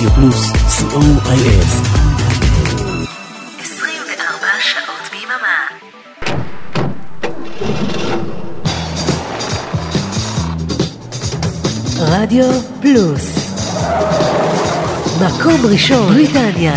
רדיו פלוס, co.il. 24 שעות ביממה. רדיו פלוס, מקום ראשון בריטניה.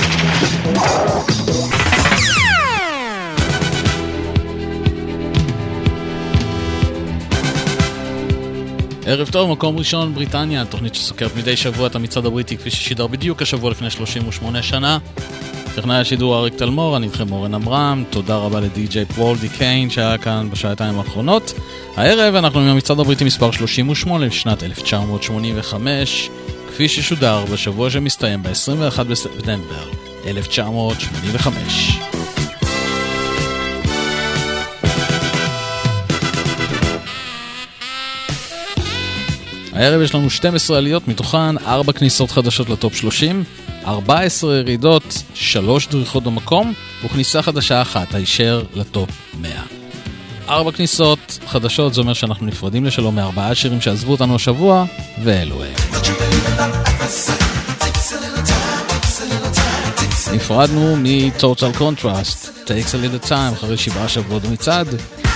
ערב טוב, מקום ראשון בריטניה, תוכנית שסוקרת מדי שבוע את המצעד הבריטי כפי ששידר בדיוק השבוע לפני 38 שנה. טכנאי השידור אריק תלמור, אני איתכם אורן אמרם. תודה רבה לדי-ג'יי פול די קיין שהיה כאן בשעתיים האחרונות. הערב אנחנו עם המצעד הבריטי מספר 38 לשנת 1985, כפי ששודר בשבוע שמסתיים ב-21 בספטמבר 1985. הערב יש לנו 12 עליות, מתוכן 4 כניסות חדשות לטופ 30, 14 ירידות, 3 דריכות במקום, וכניסה חדשה אחת, הישר לטופ 100. 4 כניסות חדשות, זה אומר שאנחנו נפרדים לשלום מ4 שירים שעזבו אותנו השבוע, ואלו הם. נפרדנו מ-Total Contrast, Takes a Little Time, אחרי 7 שבועות במצעד.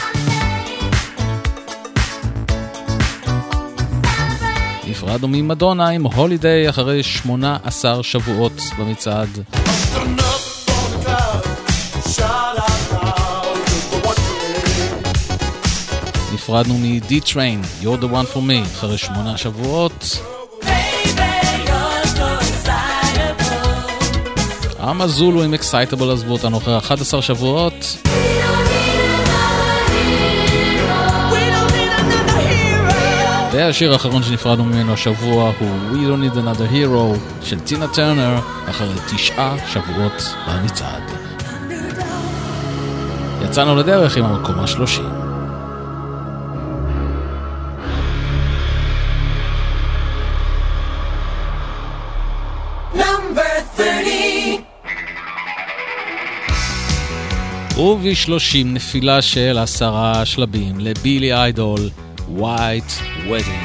נפרדנו ממדונה עם הולידיי אחרי 18 שבועות במצעד. נפרדנו מ-D-Train, You're the One for Me, אחרי 8 שבועות. אמזולו עם Excitable עזבו אותנו אחרי 11 שבועות. והשיר האחרון שנפרדנו ממנו השבוע הוא We Don't Need Another Hero של טינה טרנר אחרי 9 שבועות במצעד. יצאנו לדרך עם המקום ה-30. וב-30 נפילה של 10 שלבים לבילי איידול, White Wedding.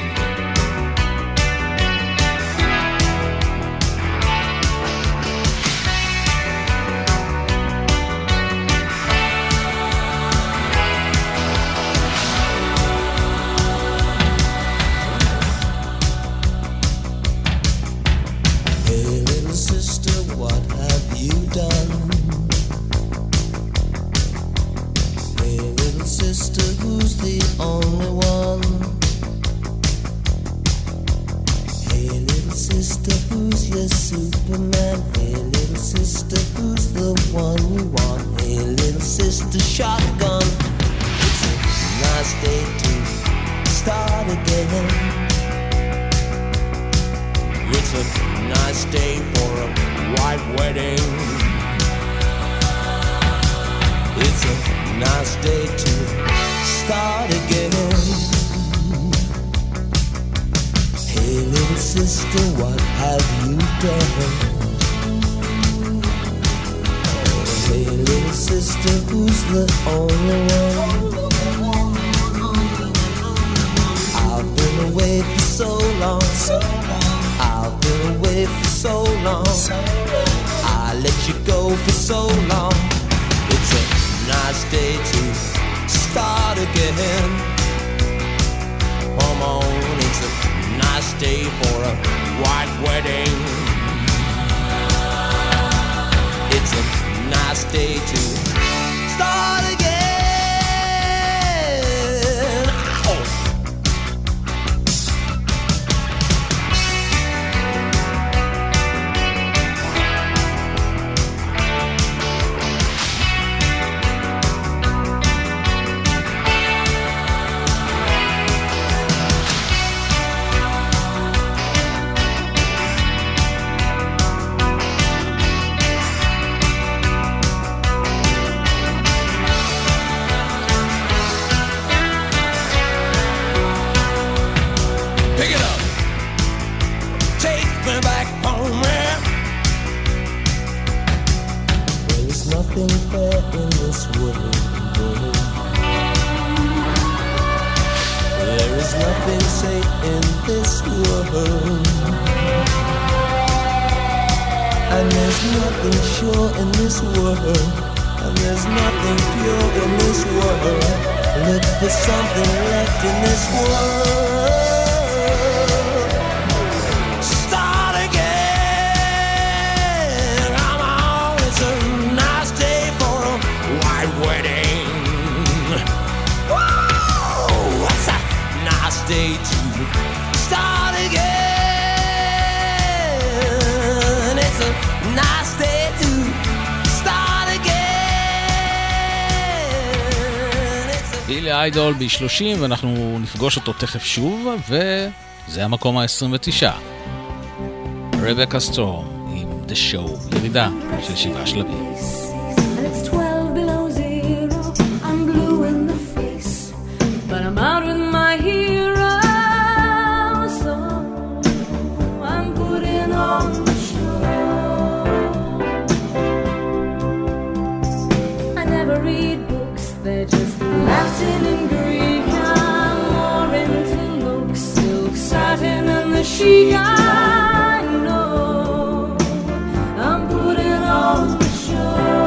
There is nothing safe in this world. And there's nothing sure in this world, and there's nothing pure in this world. Look for something left in this world. Start again. Come on, it's a nice day for a white wedding. Whoa, what's a nice day to start again? It's a nice day to start again. בילי איידול ב-30 ואנחנו נפגוש אותו תכף שוב, וזה המקום ה-29. רבקה סטורם עם The Show, ירידה של 7 שלבים. I'm out with my hero, so I'm putting on the show. I never read books, they're just Latin and Greek. I'm more into looks, silk, satin and the chic. I know I'm putting on the show.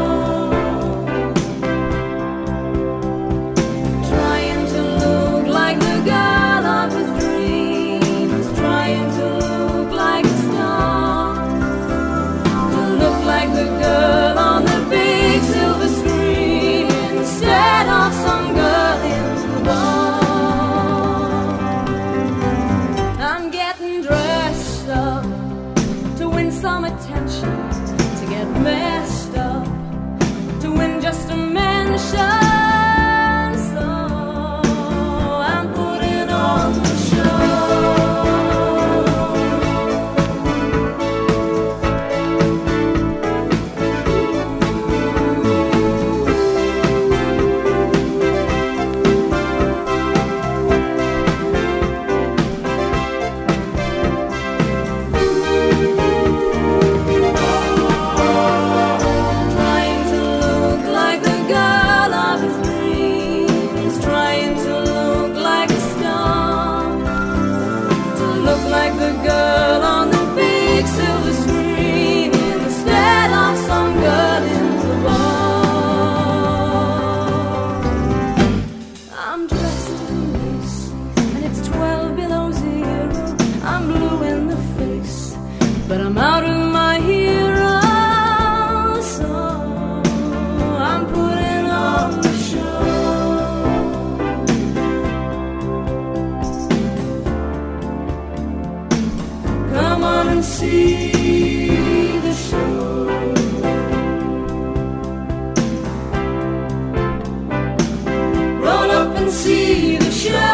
Trying to look like the girl of his dreams, trying to look like a star, to look like the girl on the big silver screen instead of some girl in the bar. I'm getting dressed up to win some attention, to get messed up to win just a mention. So I'm putting on the show. Trying to look like the girl of his dreams, trying to look like a star, to look like the girl on the big silver screen instead of some girl in the bar. I'm dressed in lace and it's 12 below zero. I'm blue in the face, but I'm out of my hero, so I'm putting on the show. Come on and see the show. Roll up and see the show.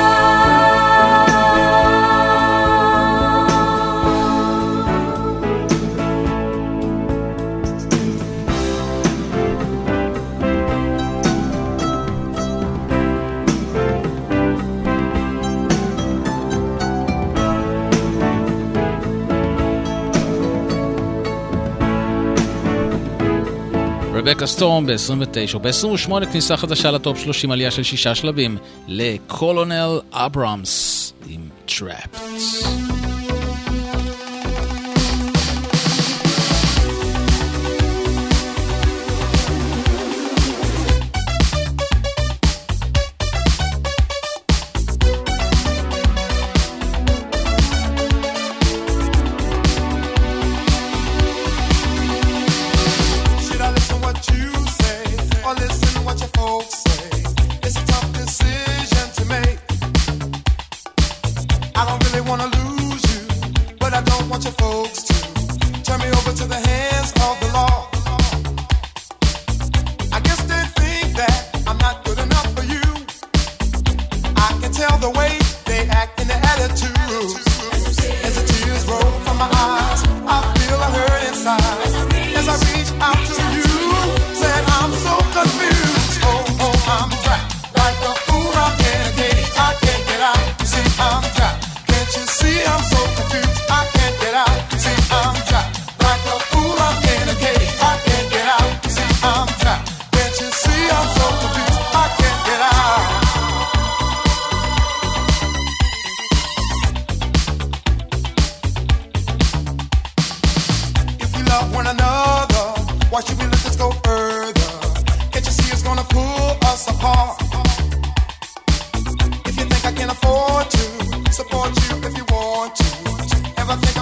רבקה סטורם ב-29, ב-28 כניסה חדשה לטופ 30, עלייה של 6 שלבים לקולונל אברהמס עם Trapped. Should I listen what you say or listen what your folks say? It's a tough decision to make. I don't really want to lose you, but I don't want your folks to turn me over to the hands of the law. I guess they think that I'm not good enough for you. I can tell the way they act in their attitude. As the tears roll from my eyes, I feel a hurt inside. As I reach out to you, said I'm so confused. Oh, I'm trapped like a fool. I'm in a cage. I can't get out. See, I'm trapped. Can't you see I'm so confused? I can't get out. See, I'm trapped like a fool. I'm in a cage. I can't get out. See, I'm trapped. Can't you see I'm so confused? I can't get out.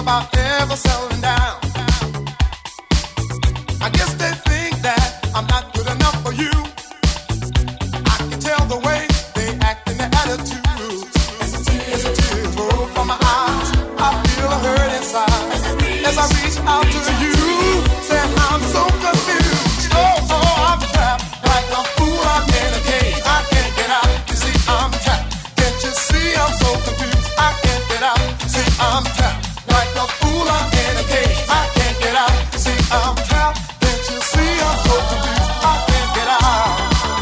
about ever settling down. I guess they think that I'm not good enough for you. I can tell the way they act and their attitudes. As the tears roll from my eyes, I feel a hurt inside. As I reach out to you, say I'm so confused. Oh, I'm trapped like a fool. I'm in a cage. I can't get out. You see, I'm trapped. Can't you see I'm so confused? I can't get out. See, I'm trapped like a fool. I'm in a cage. I can't get out. See, I'm trapped. Can't you see I'm so confused? I can't get out.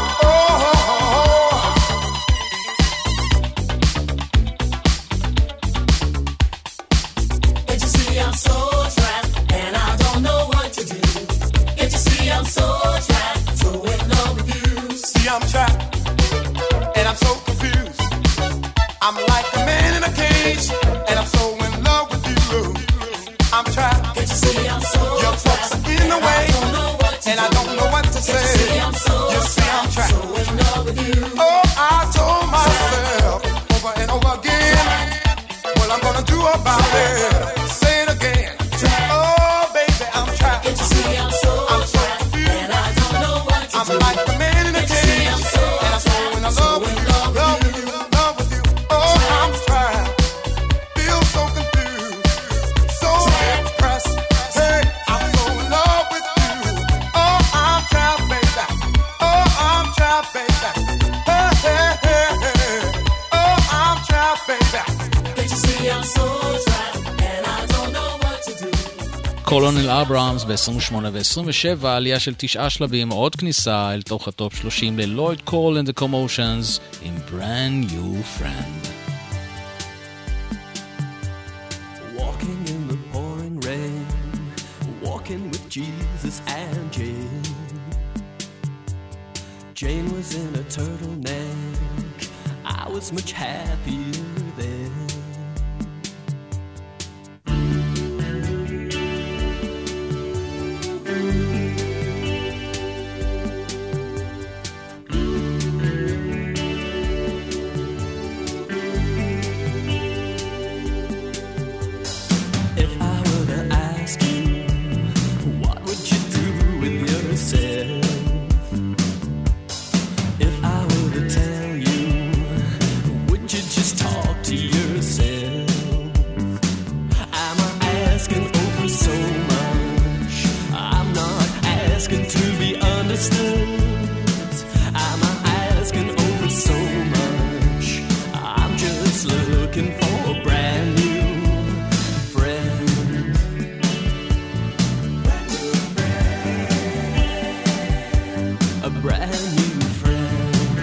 Can't you see I'm so trapped and I don't know what to do? Can't you see I'm so trapped, so in love with you? See, I'm trapped and I'm so confused. I'm like a man in a cage and I'm so in love with you. I'm trapped. Can't you see I'm so Your folks trapped are in the way and I don't know what to and I don't know what to do? Can't you say. see I'm so You see, I'm trapped. so in love with you? Oh, I told myself over and over again what I'm gonna do about it. Say it again. Oh, baby, I'm trapped. Can't you see I'm so trapped confused. and I don't know what to I'm do? like the man in a Can't you see cage, I'm so and I'm so in love with you, love with you, love with you. Oh, I'm trapped, feel so confused, so depressed. Hey, I'm so in love with you. Oh, I'm trapped, baby. Oh, I'm trapped, baby. Hey, hey, hey, hey. Oh, I'm trapped, baby. Can't you see I'm so trapped and I don't know what to do? קולונל אברהמס ב-28 ו-27, עלייה של 9 שלבים, עוד כניסה אל תוך הטופ 30 ללויד קול and the Commotions עם Brand New Friend. Walking in the pouring rain, walking with Jesus and Jane. Jane was in a turtleneck, I was much happier then. If I were to ask you, what would you do with yourself? If I were to tell you, would you just talk to yourself? Am I asking over so much? I'm not asking to be understood. Am I asking over so much? I'm just looking for a brand new friend. A brand new friend.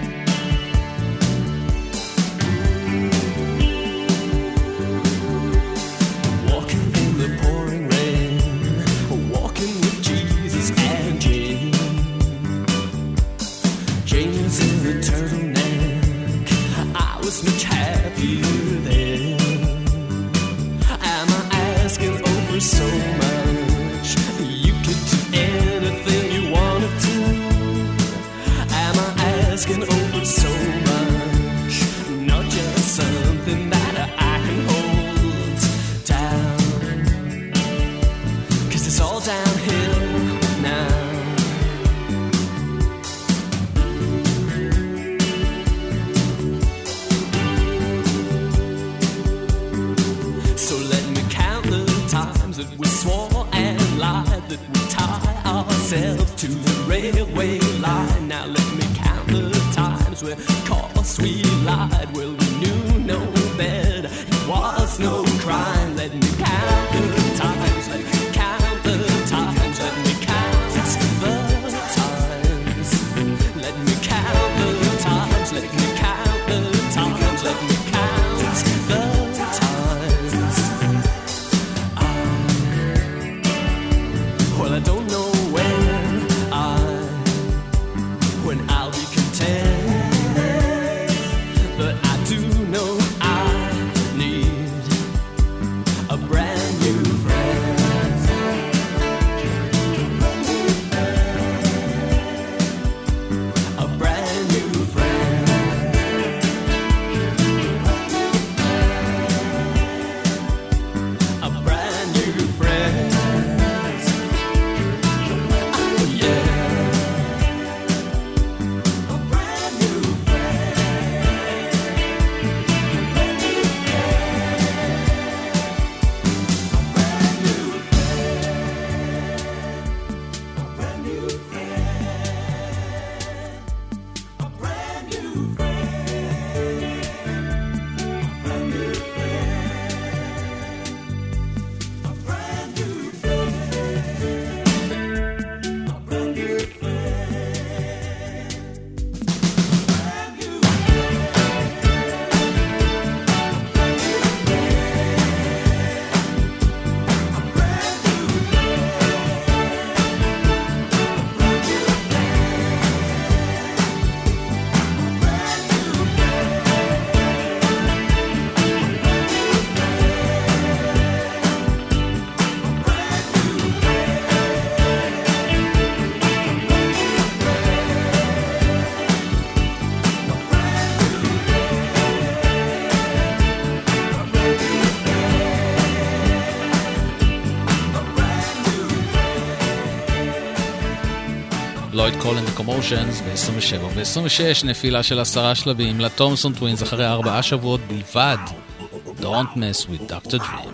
Walking in the pouring rain, walking with Jesus and Jane. Jane was in a turtleneck, I was much happier then. Am I asking over so much? You could do anything you wanted to. Am I asking over so much? Not just something that I can hold down. 'Cause it's all downhill now. So let me count the times that we swore and lied, that we tie ourselves to the railway line. Now let me count the times where, course, we lied. Well, we knew no better, it was no crime. Let me count the times, let me count the times, let me count the times. Let me count the times, let me count the times, let me count the times. Well, I don't know when I'll be content, but I do know I need a brand new friend. לויד קולן וקומושנס ב-27 ו-26 נפילה של 10 שלבים לתומסון טווינס אחרי 4 שבועות בלבד. Don't mess with Dr. Dream.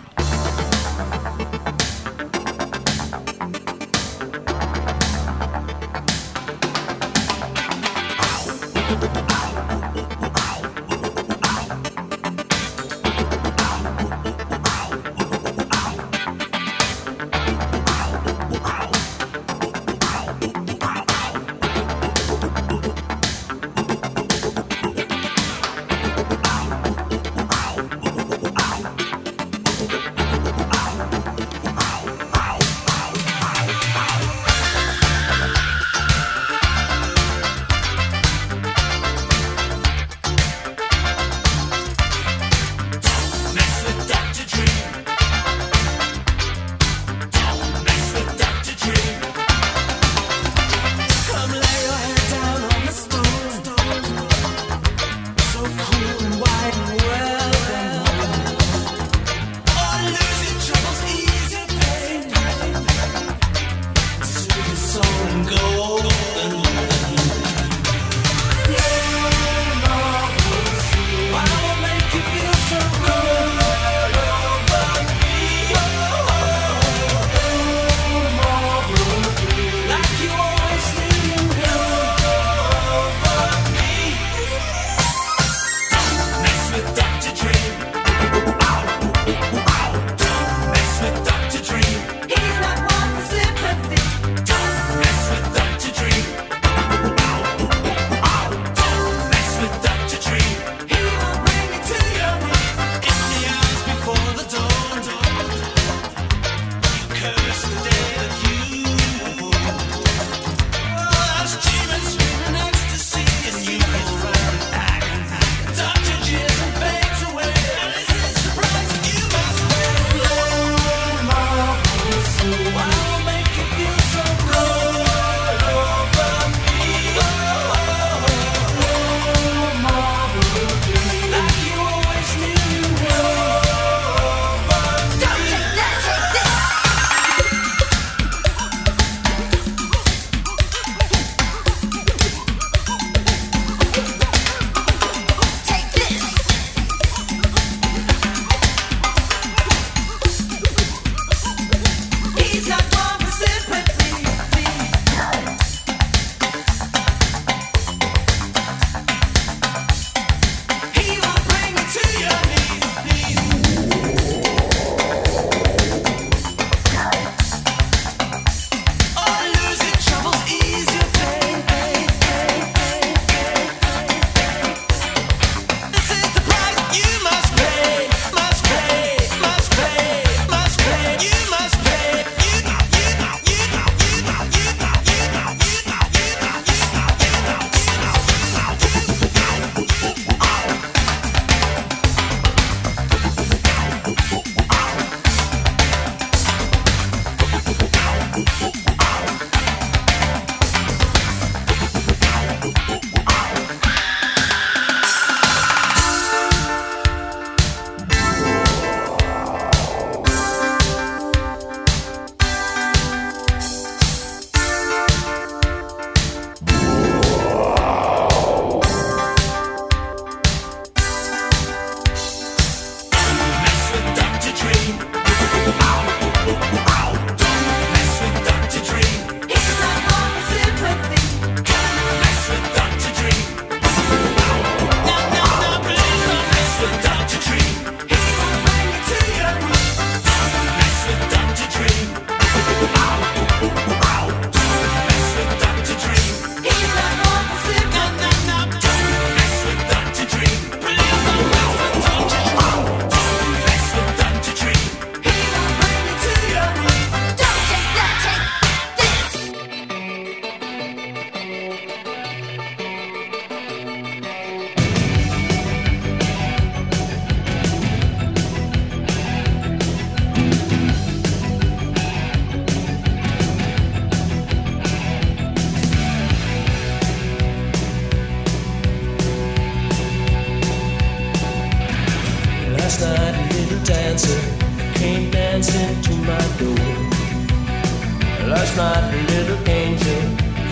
dancer came dancing to my door. Last night a little angel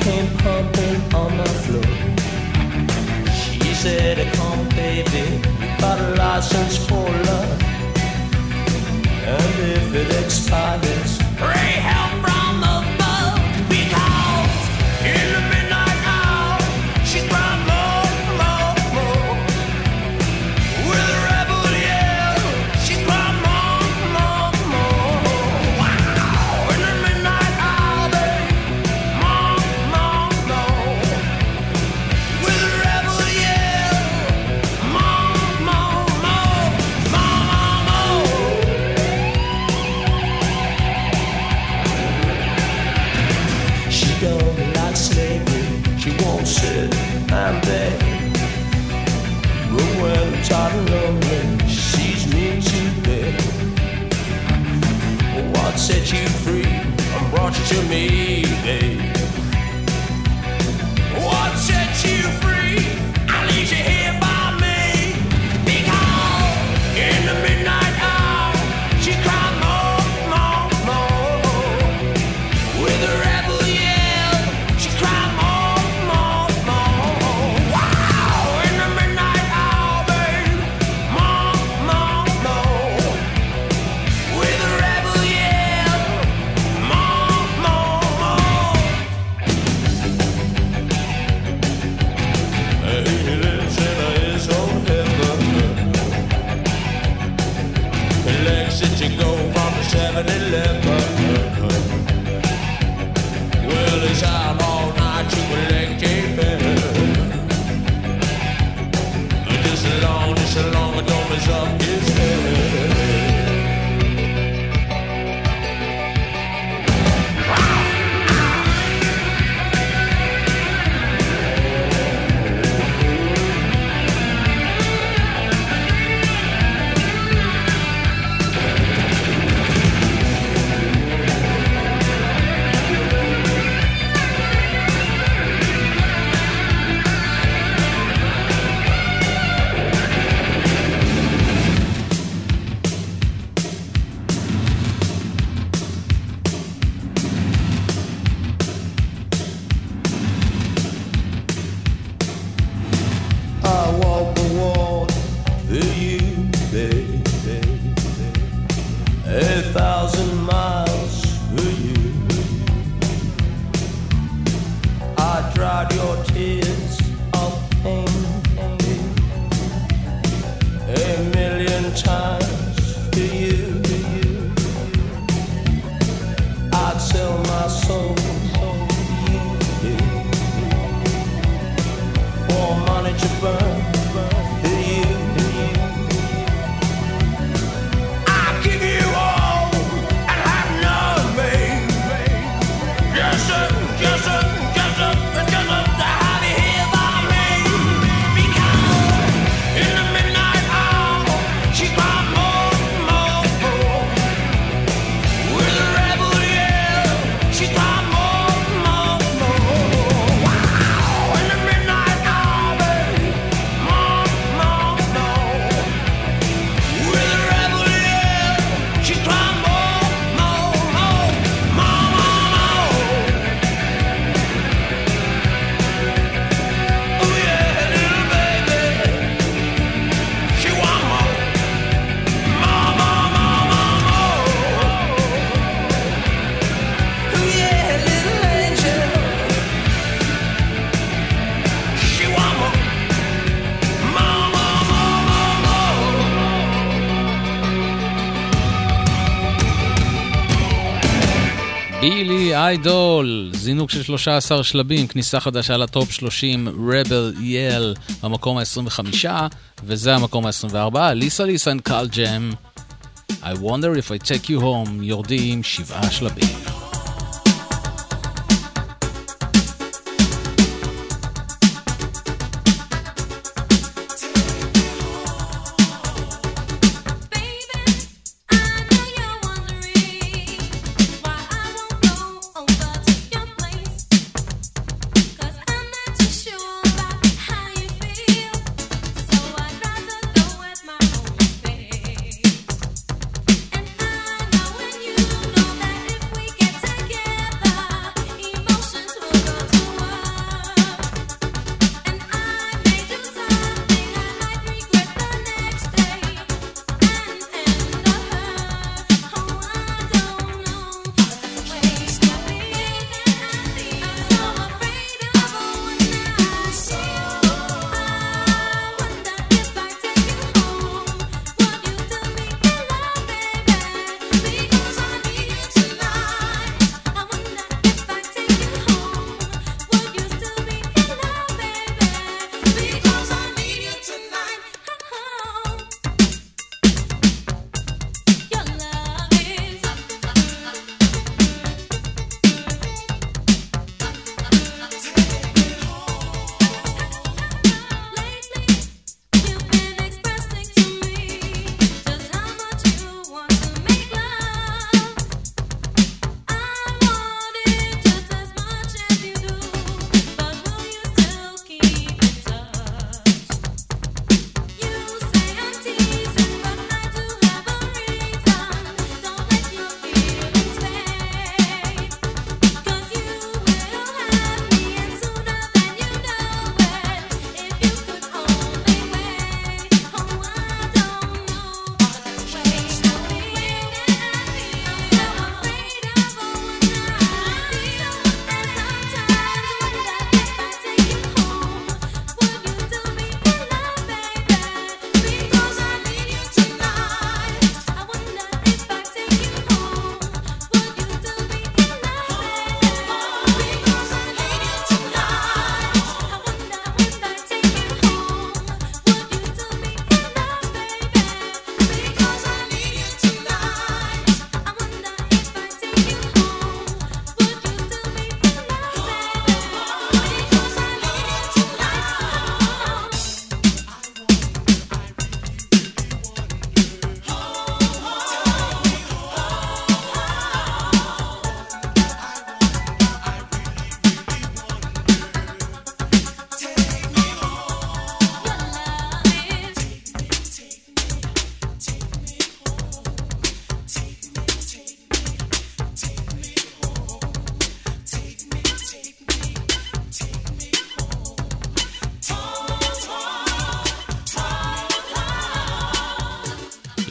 came pumping on my floor. She said, come baby, got a license for love, and if it expires, pray help from above, because in the midnight hour she cried more, more, more. With a rebel yell, she cried more, more, more. Wow! In the midnight hour, babe, more, more, more. With a rebel yell, more, more, more, more, more. She don't like slavery, she won't sit and beg. But when I'm tired and lonely, she sees me today. What set you free and brought you to me, babe? What set you free and leaves you here by me? Because in the midnight hour, she cried more, more, more. With a rebel yell, she cried more, more, more. Wow! In the midnight hour, babe, more, more, more. With a rebel yell, more, more, more. He lives in his own heaven. He likes it to go from 7-Eleven. Well, he's out all night to collect a bill. Just as long as don't mess up his head. I walk the walk for you, baby. 1,000 miles for you. I dried your tears of pain 1,000,000 times for you. I'd sell my soul for you, for money to burn for you. I'll give you all and have nothing. Just to have you here by me. Because in the midnight hour, she cried more, more, more. With a rebel yell, she cried more, more, more. Wow! In the midnight hour, babe, more, more, more. With a rebel yell, she cried more, more, more, more, more. Oh yeah, little baby, she want more, more, more, more, more, more. Oh yeah, little angel, she want more, more, more, more, more, more. בילי איידול, זינוק של 13 שלבים, כניסה חדשה לטופ 30, Rebel Yell, המקום ה-25, וזה המקום ה-24, ליסה ליסה and קל ג'ם, I wonder if I take you home, יורדים 7 שלבים. And I know when you know that if we get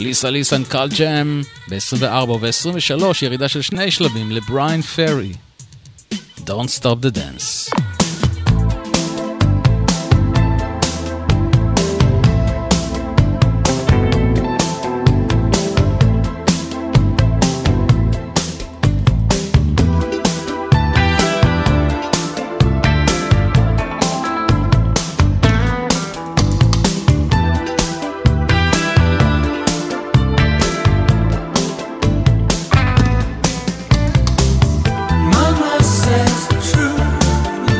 ליסה ליסן קל ג'ם ב-24 ו-23 ירידה של 2 שלבים לבריין פרי Don't Stop the Dance. Mama says the truth.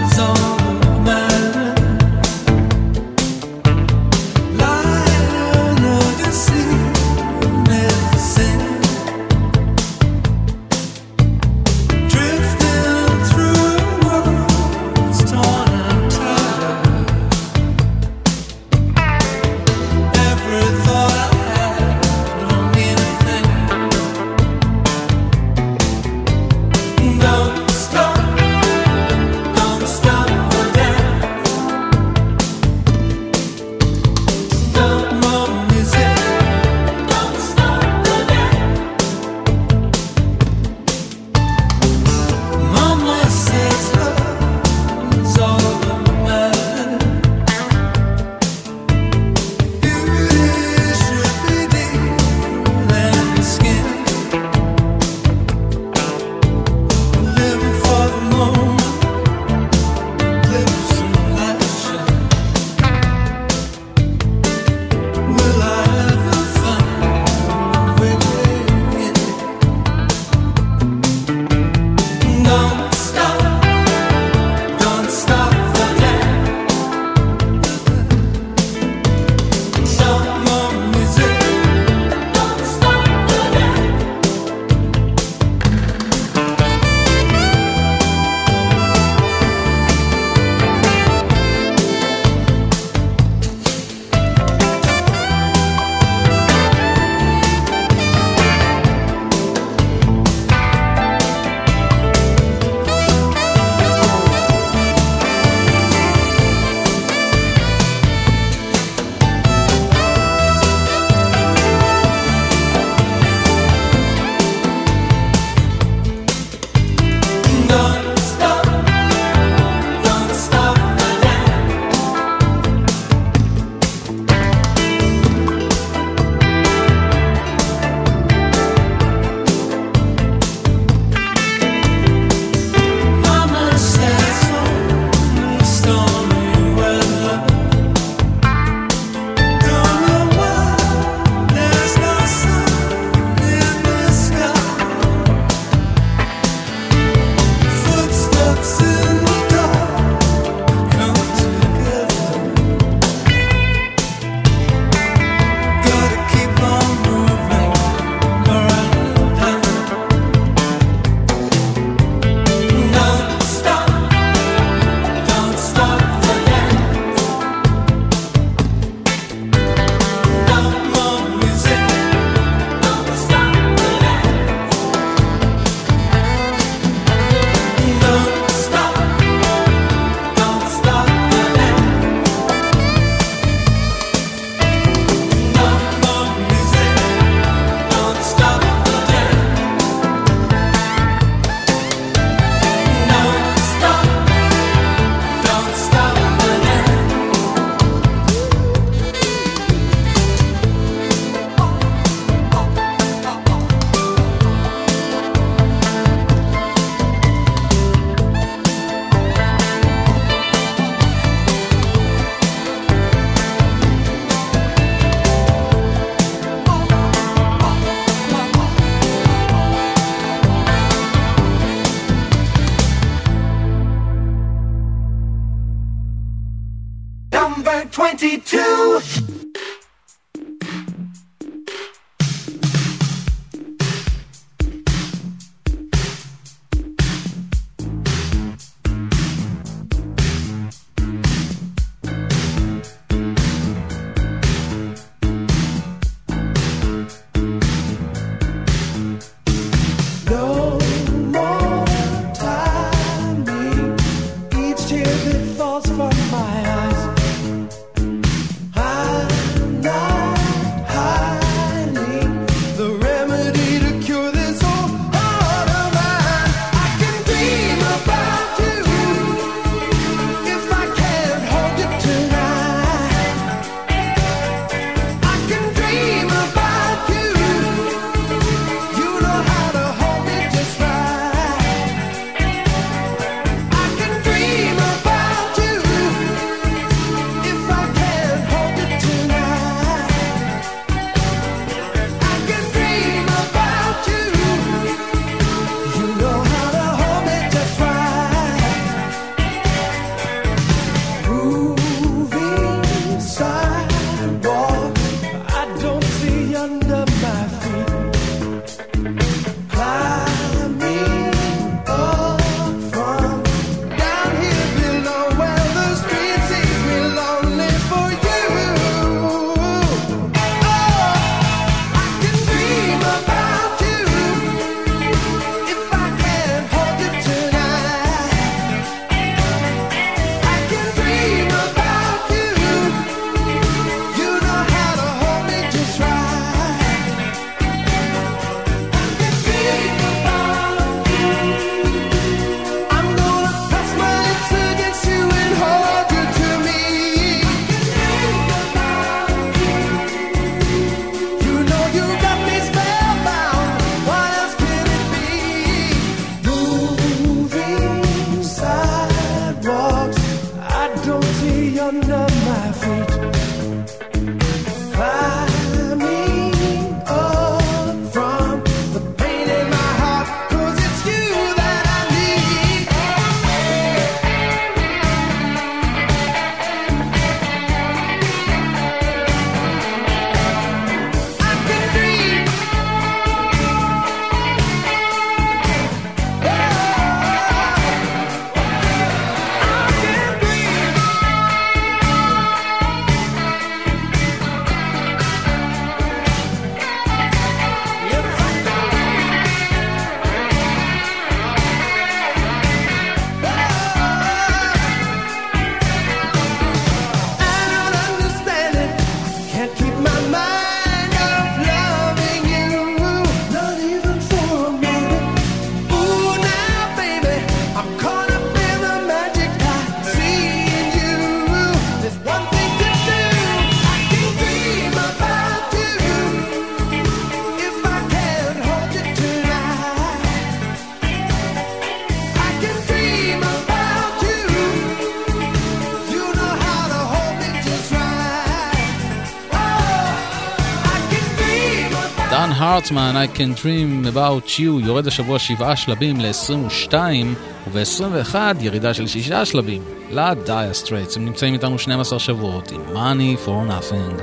דן הרטמן, I can dream about you, יורד השבוע 7 שלבים ל-22, וב-21 ירידה של 6 שלבים ל-Dire Straits. הם נמצאים איתנו 12 שבועות עם Money for Nothing.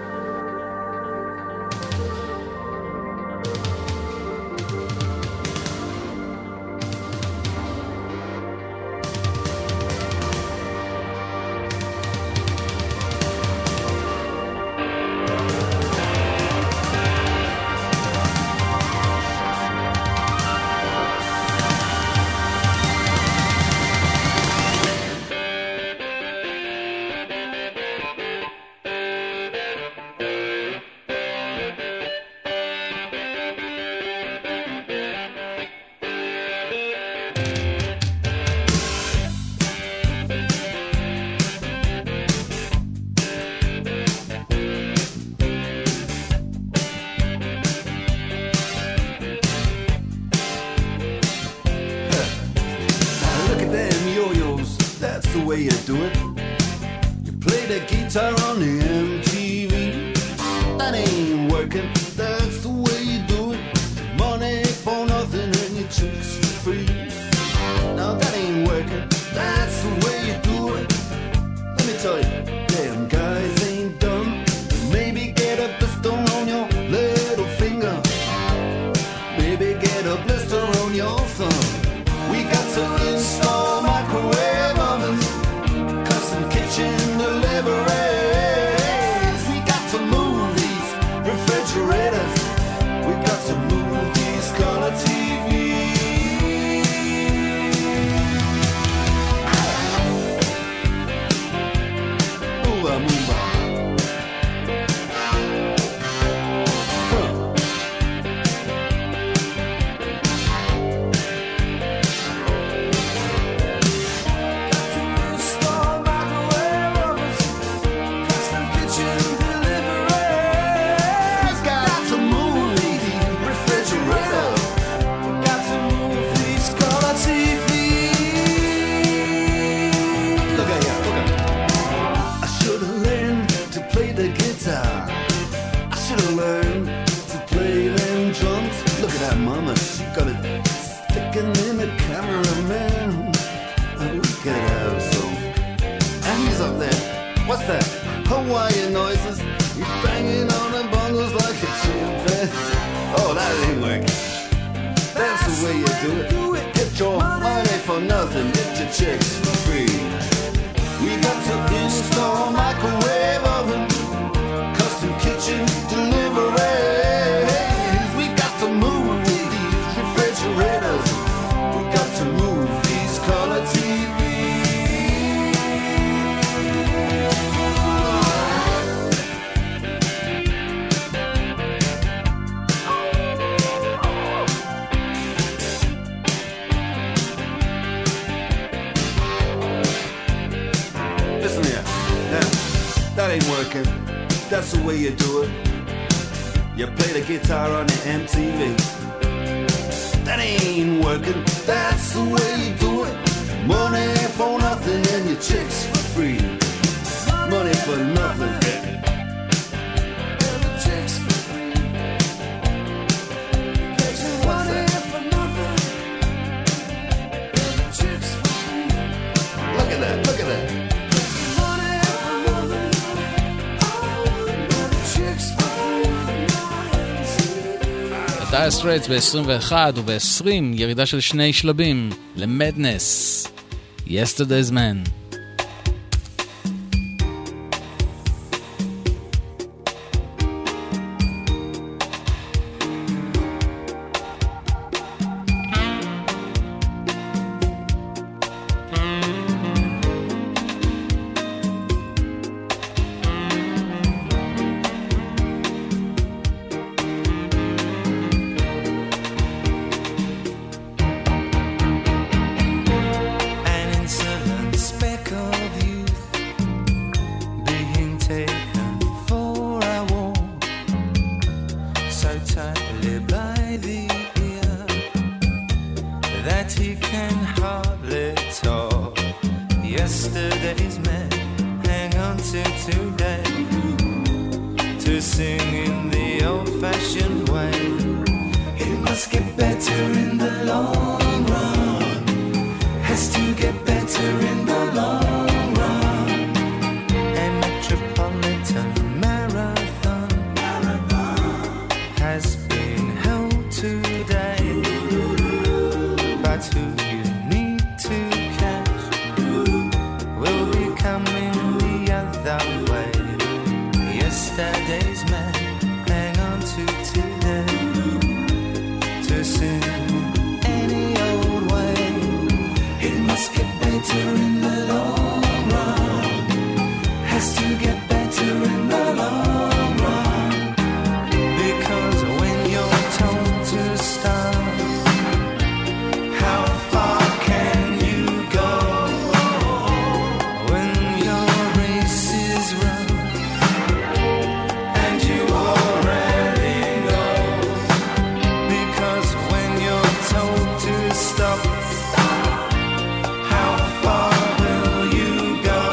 Dire Straits ב-21 וב-20 ירידה של 2 שלבים ל-Madness, Yesterday's Man. To sing in the old-fashioned way. better in the long run. Has to get better in the long run. A metropolitan marathon has been held today, but who you need to catch will be coming the other way. Yesterday's man, hang on to today. Too soon, any old way. It must get better in the long run. Has to get better in the long run. Because when you're told to start, how far can you go? When your race is run and you already know. Because when you're told to stop, how far will you go?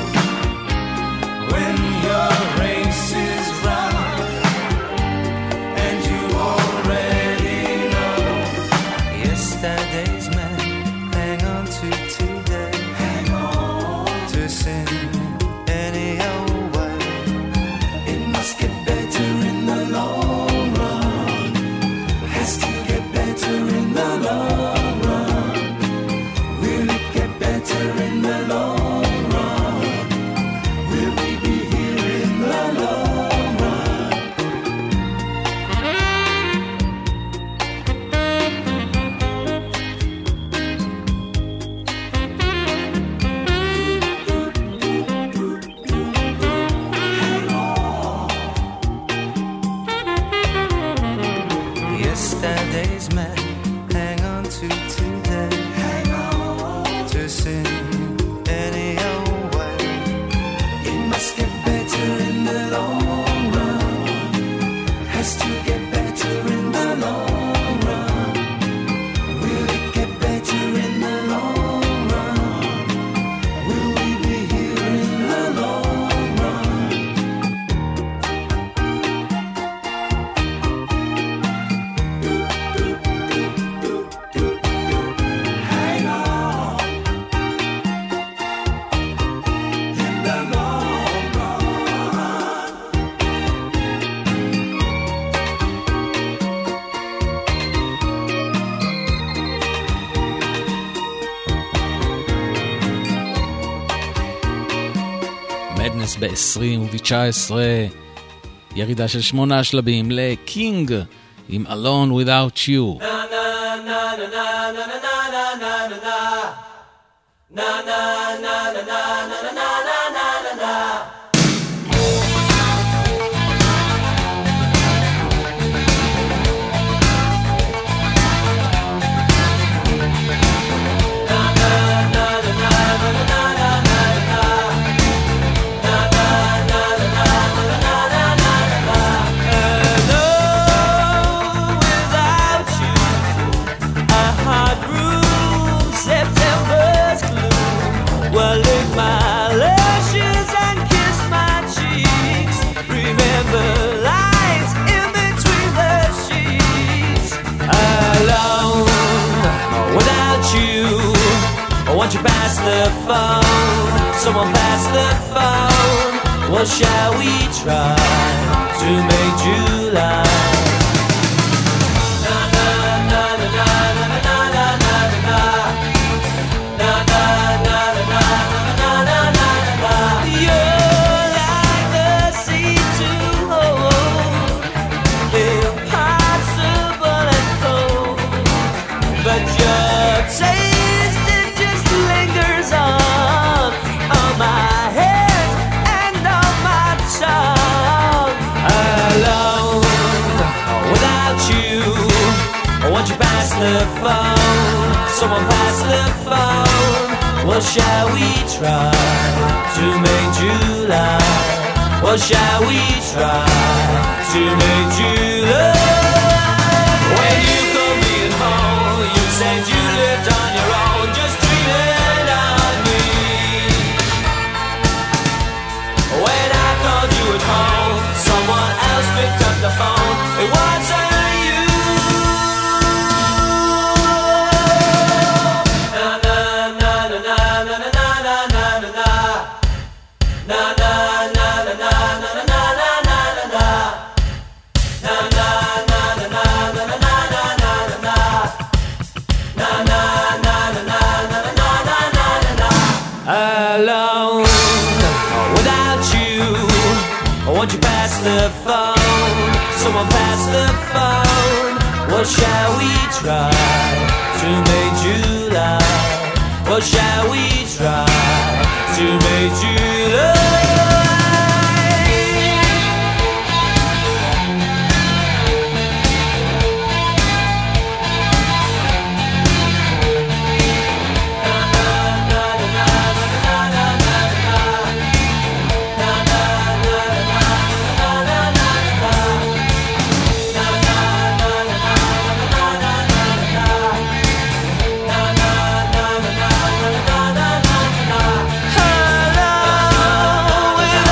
When your race is run and you already know. Yesterday's man, hang on to today. Hang on to sin any old way. It must get better in the long run. Has to get better in the long run. Will it get better in the long run? Will we be here in the long run? Yesterday's man, hang on to today. Hang on to sin any old way. It must get better in the long run. Has to get better in the long run. Will it get better in the long run? Will we be here in the long run? Hang on in the long run. מדנס ב-20 וב-19, ירידה של 8 שלבים לקינג עם Alone Without You. Without you, a hot room, September's gloom. Well, lick my lashes and kiss my cheeks. Remember lines in between the sheets. Alone without you. Won't you pass the phone? Someone pass the phone. Well, shall we try to make July? You're like the sea to hold, impossible and cold. But your taste, it just lingers on my head and on my tongue. Alone without you. Won't you pass the phone? Someone pass the phone. Well, shall we try to make July? Well, shall we try to make July? When you called me at home, you said you lived on your own, just dreaming on me. When I called you at home, someone else picked up the phone. It wasn't you. someone pass the phone. What shall we try to make July? What shall we try to make July? Hello,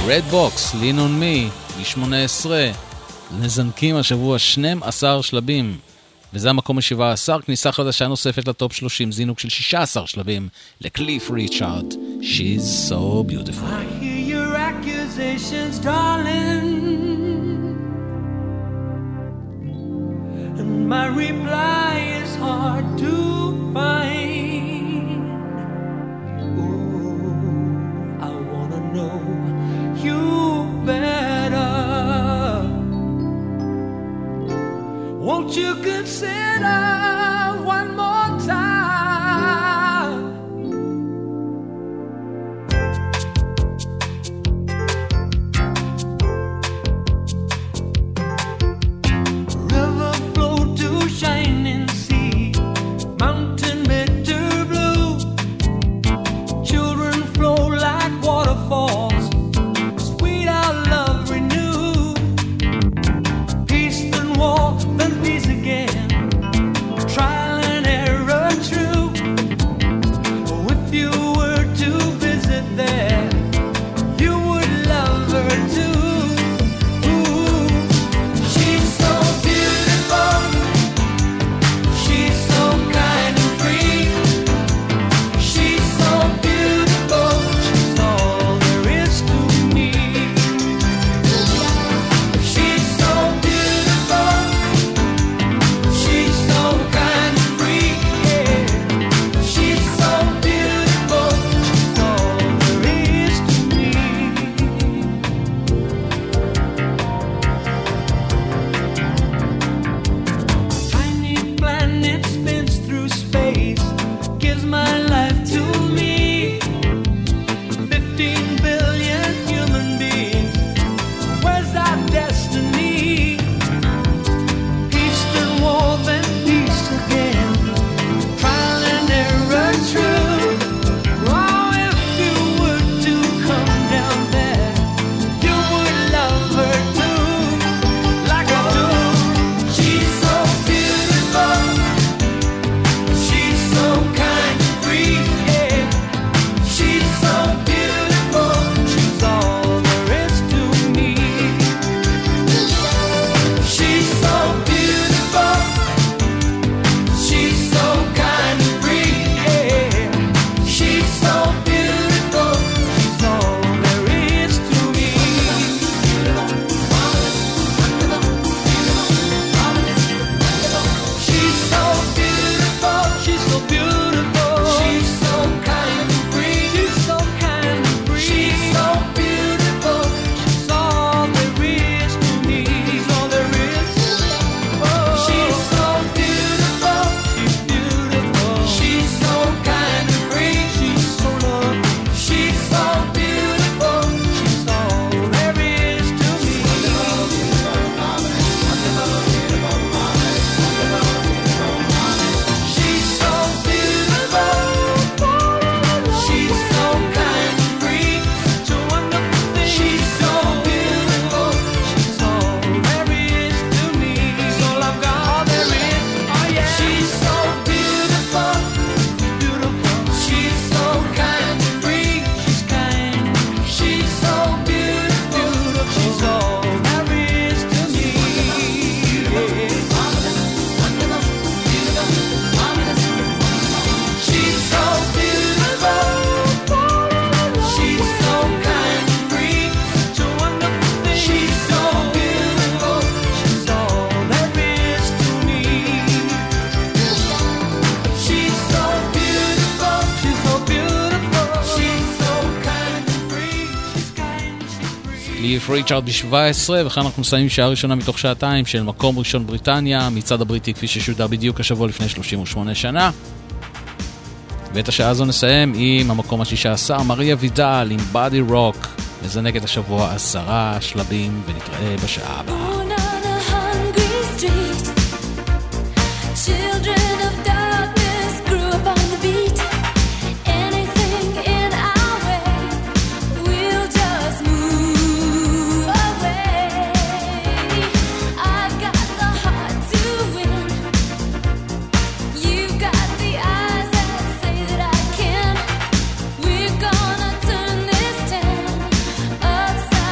Red Box, Lean on Me, מ-18, נזנקים השבוע 12 שלבים, וזה המקום ה-17, כניסה חדשה נוספת לטופ 30, זינוק של 16 שלבים, לקליף ריצ'ארד, She's so beautiful. I hear your accusations, darling, and my reply is hard to find. Ooh, I wanna know you better. Won't you consider one more time? River flow to shining sea, mountain bitter blue. Children flow like waterfalls, sweet our love renew. Peace then war, then peace again. Trial and error true. If you were to visit there, you would love her too. Ooh, she's so beautiful. She's so kind and free. She's so beautiful. She's all there is to me. She's so beautiful. She's so kind and free. Yeah. She's so beautiful. She's all there is to me. Tiny planet spins through space, gives my life to me. 15 billion human beings, where's our destiny? Peace then war, then peace again. Trial and error true. Oh, if you were to come down there, you would love her too, like I do. She's so beautiful. She's so kind and free. Yeah. She's so beautiful. She's all there is to me. She's so beautiful. She's so kind and free. Yeah. She's so beautiful. She's all there is to me. She's so beautiful. She's so beautiful. She's so kind and free. She's so kind and free. She's so beautiful. She's all there is to me. She's all there is. Oh. She's so beautiful. She's beautiful. She's so kind and free. She's so lovely. She's so beautiful. She's all there is to me. She's so beautiful. She's so kind and free. Such a wonderful thing. She's so beautiful. She's all there is to me. She's all I've got. All there is. Oh yeah. She's so beautiful. Beautiful. She's so kind and free. She's kind. She's so beautiful. She's all there is to me. She's so beautiful. She's so kind and free. Such a wonderful thing. She's so beautiful. She's all there is to me. She's so beautiful. She's so beautiful. She's so kind and free. She's kind, she's free. קליף ריצ'ארד ב-17, וכאן אנחנו מסיימים שעה ראשונה מתוך שעתיים של מקום ראשון בריטניה, מצד הבריטי כפי ששודר בדיוק השבוע לפני 38 שנה. ואת השעה הזו נסיים עם המקום ה-16, מריה וידל עם בדי רוק, מזנקת השבוע 10 שלבים, ונתראה בשעה הבאה. Born on a hungry street, children of darkness grew up on the beat. Anything in our way, we'll just move away. I've got the heart to win. You've got the eyes that say that I can. We're gonna turn this town upside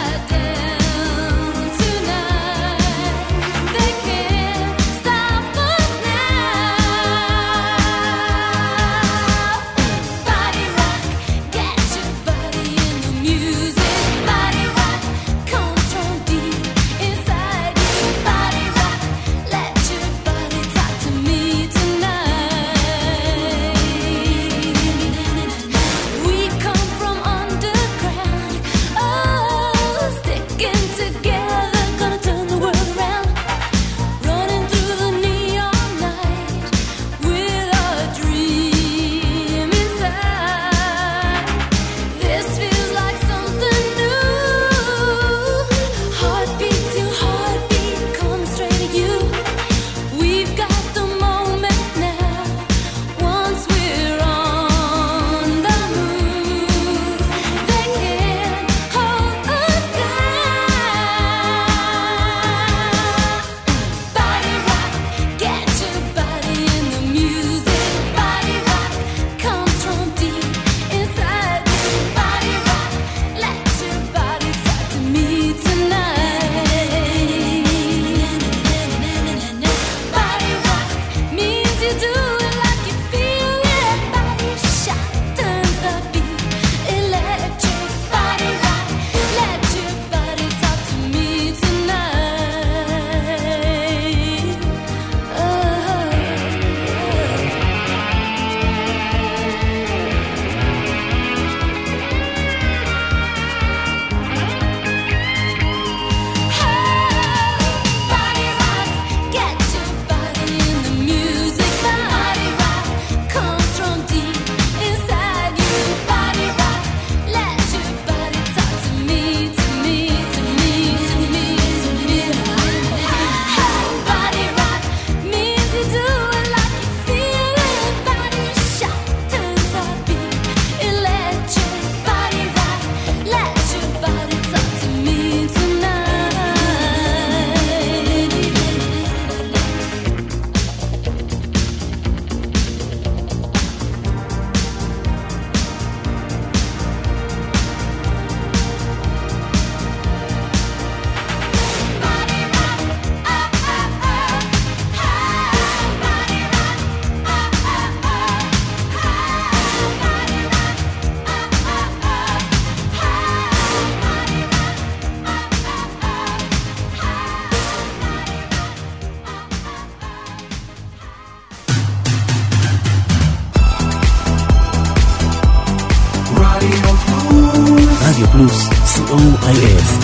פלוס, COIF.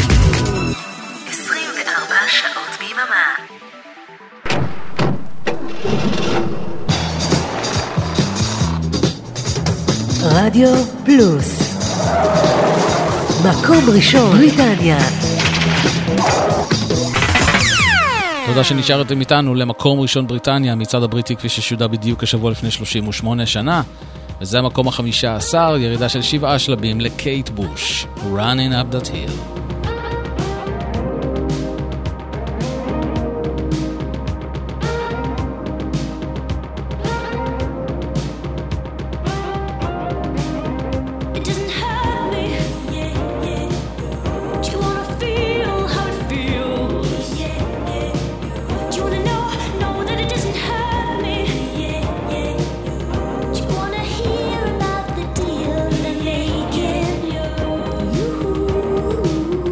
24 שעות ביממה. רדיו פלוס, מקום ראשון בריטניה. תודה שנשארתם איתנו למקום ראשון בריטניה, מצעד הבריטי כפי ששודר בדיוק השבוע לפני 38 שנה, וזה המקום ה-15, ירידה של 7 שלבים לקייט בוש, Running Up That Hill. Ooh.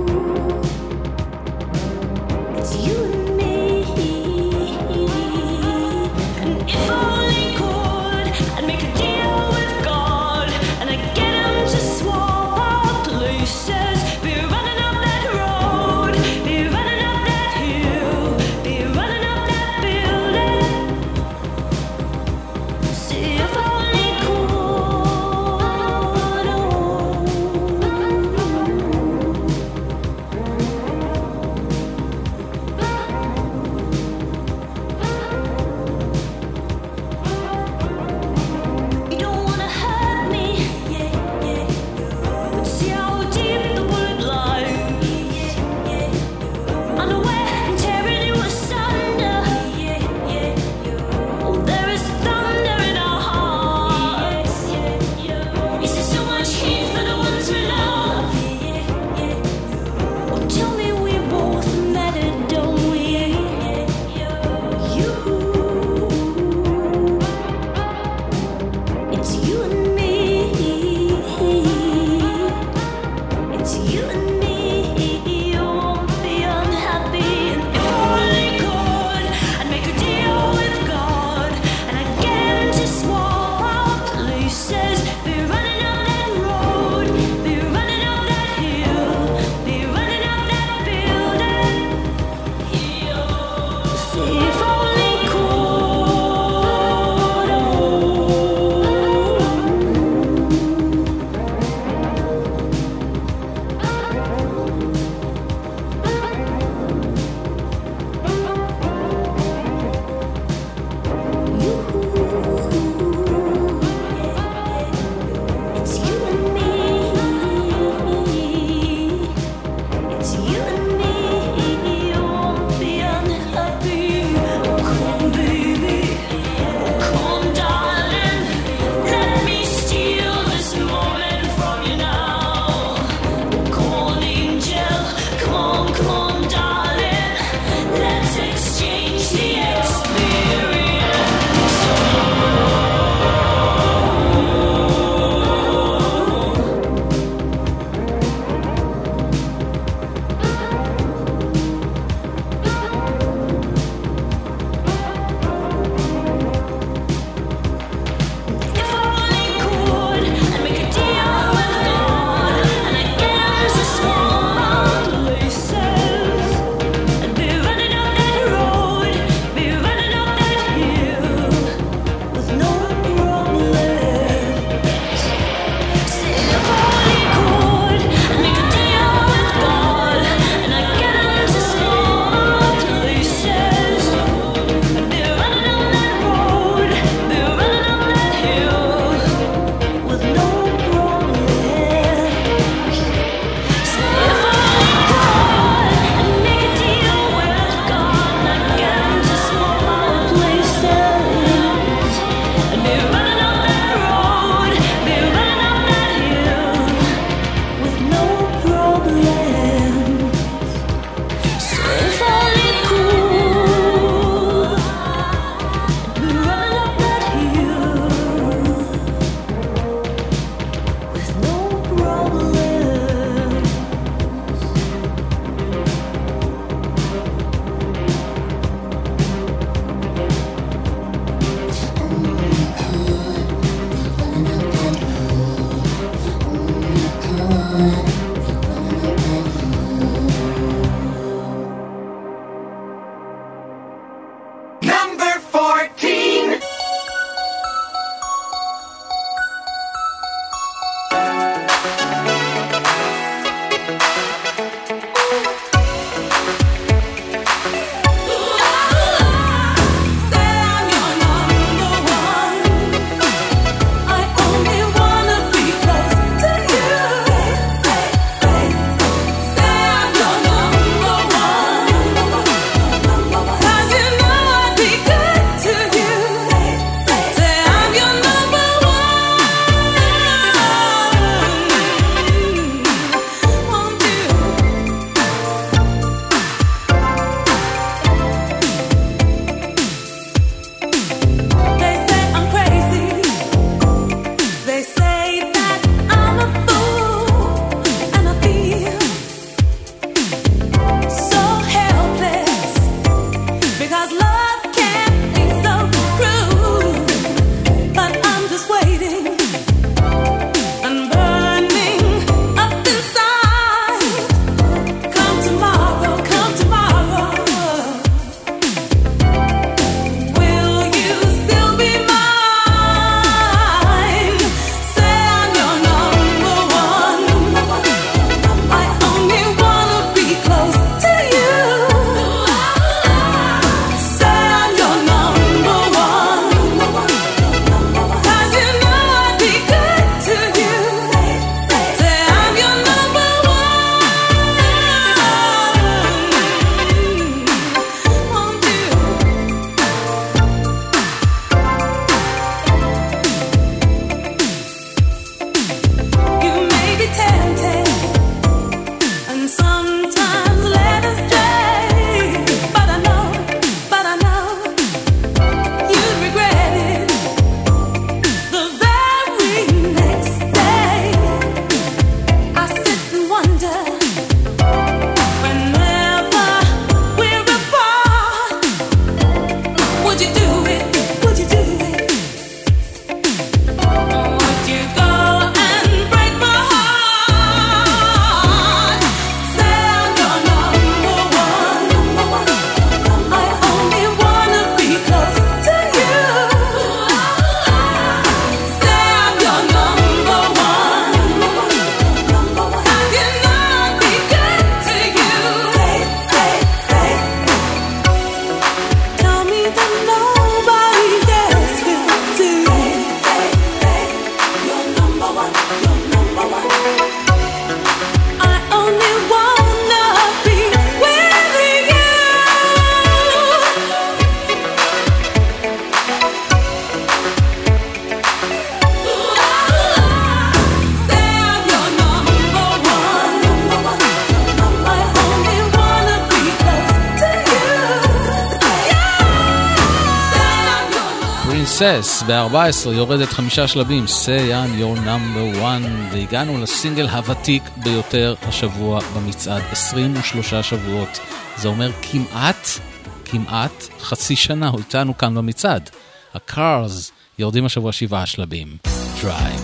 Success ב-14 יורדת 5 שלבים, Say I'm Your Number One, והגענו לסינגל הוותיק ביותר השבוע במצעד, 23 שבועות. זה אומר כמעט חצי שנה הוא איתנו כאן במצעד. ה-Cars יורדים השבוע 7 שלבים, Drive.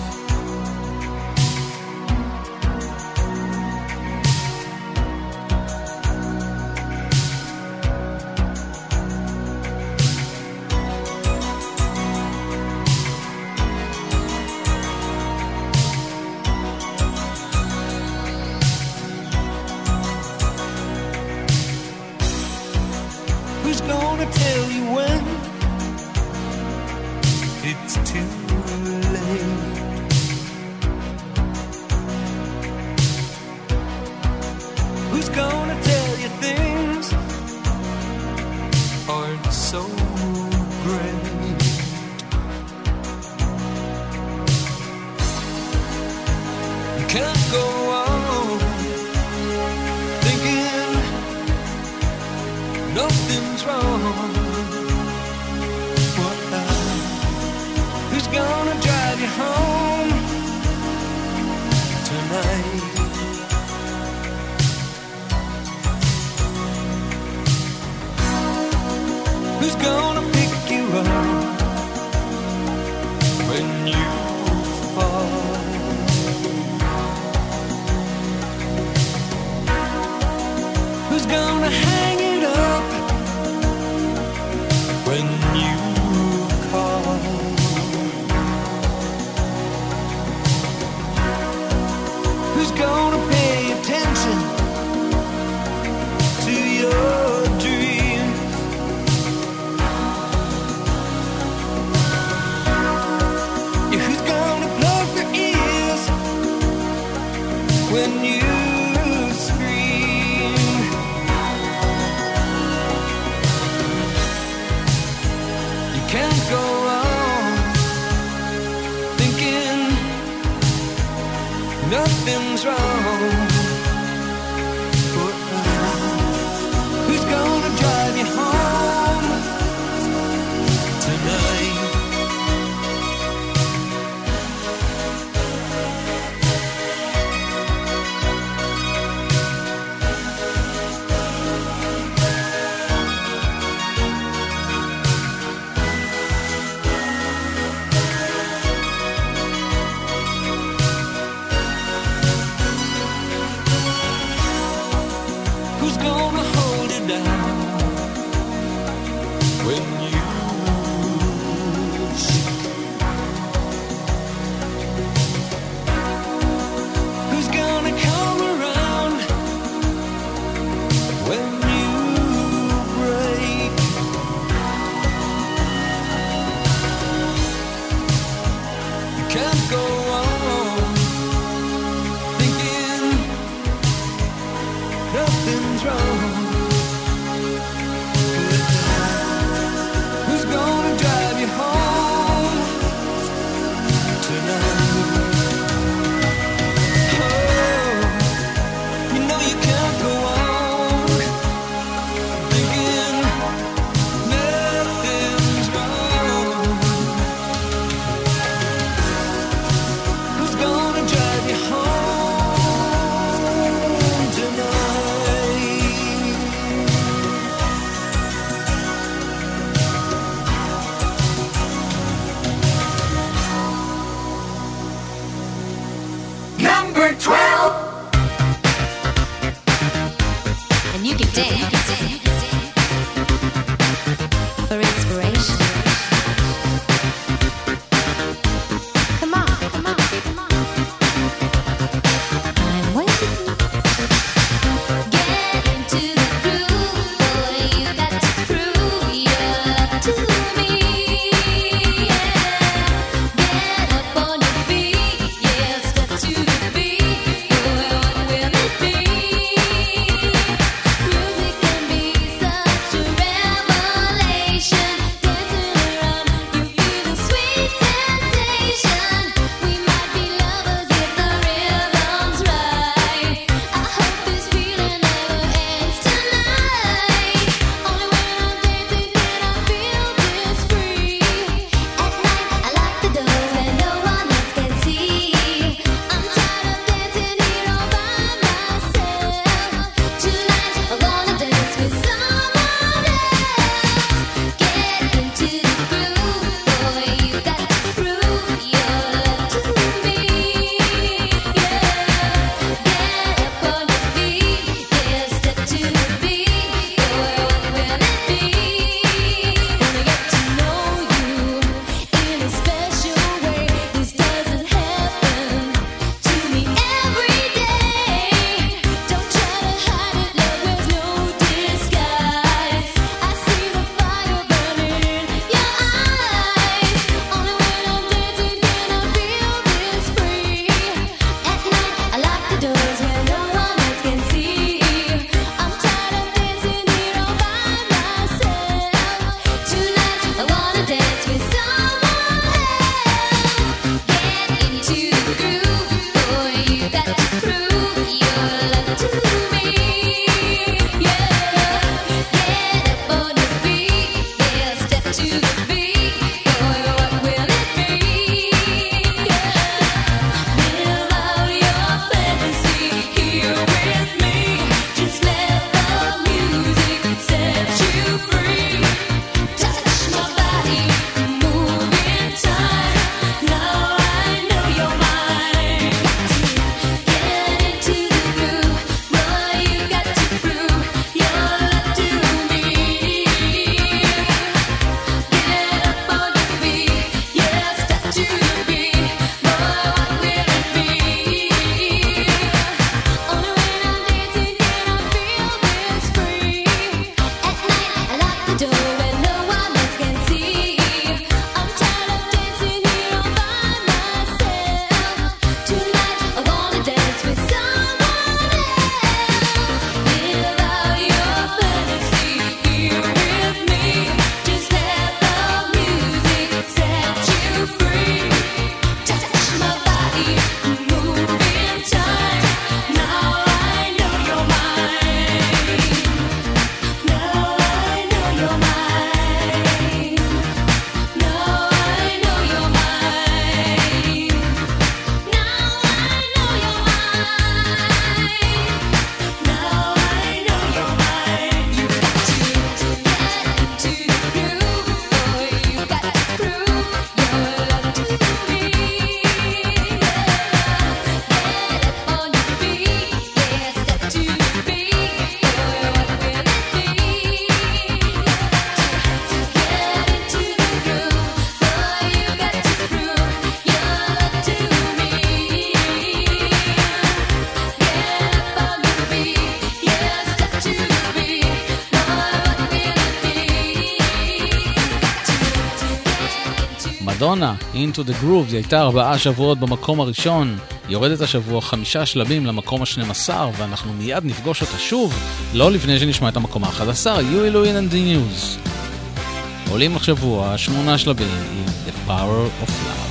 מדונה, Into the Groove, היא הייתה 4 שבועות במקום הראשון, יורדת השבוע 5 שלבים למקום ה-12, ואנחנו מיד נפגוש אותה שוב, לא לפני שנשמע את המקום ה-11, Huey Lewis and the News. עולים השבוע 8 שלבים עם The Power of Love.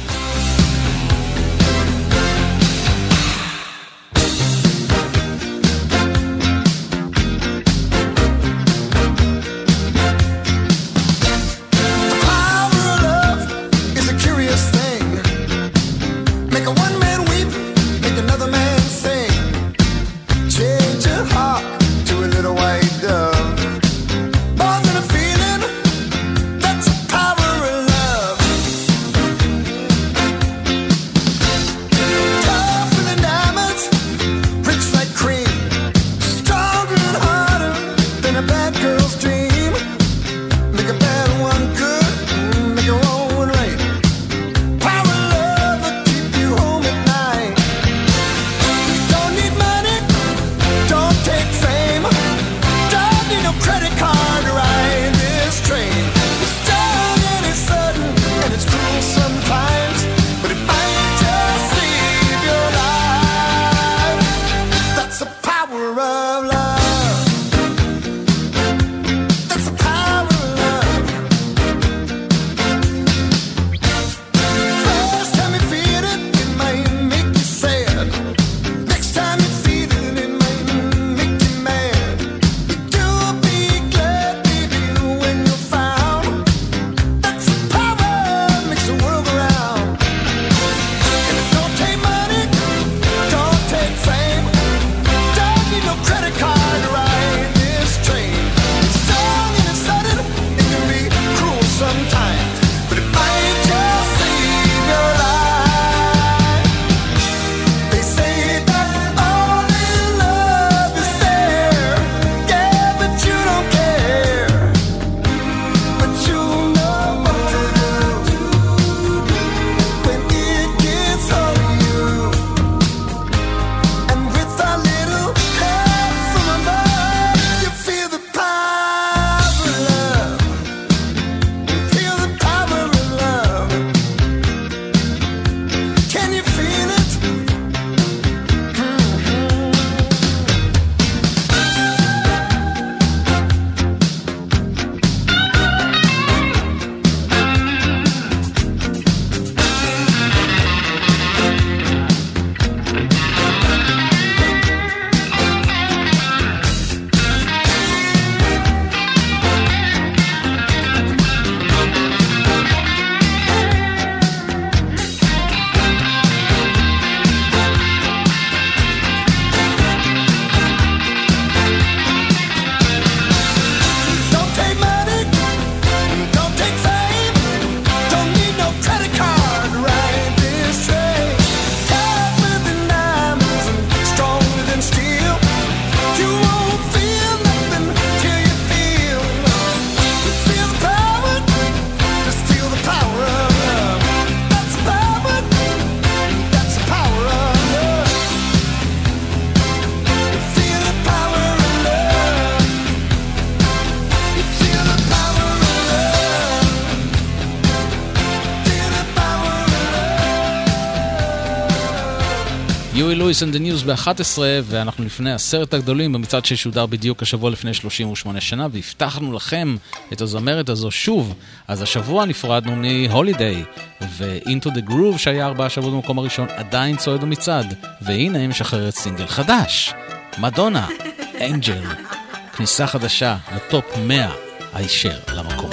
Huey Lewis and the News ב-11, ואנחנו לפני 10 הגדולים במצעד ששודר בדיוק השבוע לפני 38 שנה, והבטחנו לכם את הזמרת הזו שוב. אז השבוע נפרדנו מ-Holiday, ו-Into the Groove שהיה 4 שבועות במקום הראשון עדיין צועד במצעד, והנה היא משחררת סינגל חדש, מדונה, אנג'ל, כניסה חדשה לטופ 100 הישר למקום.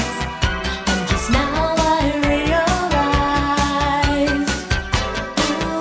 Ooh,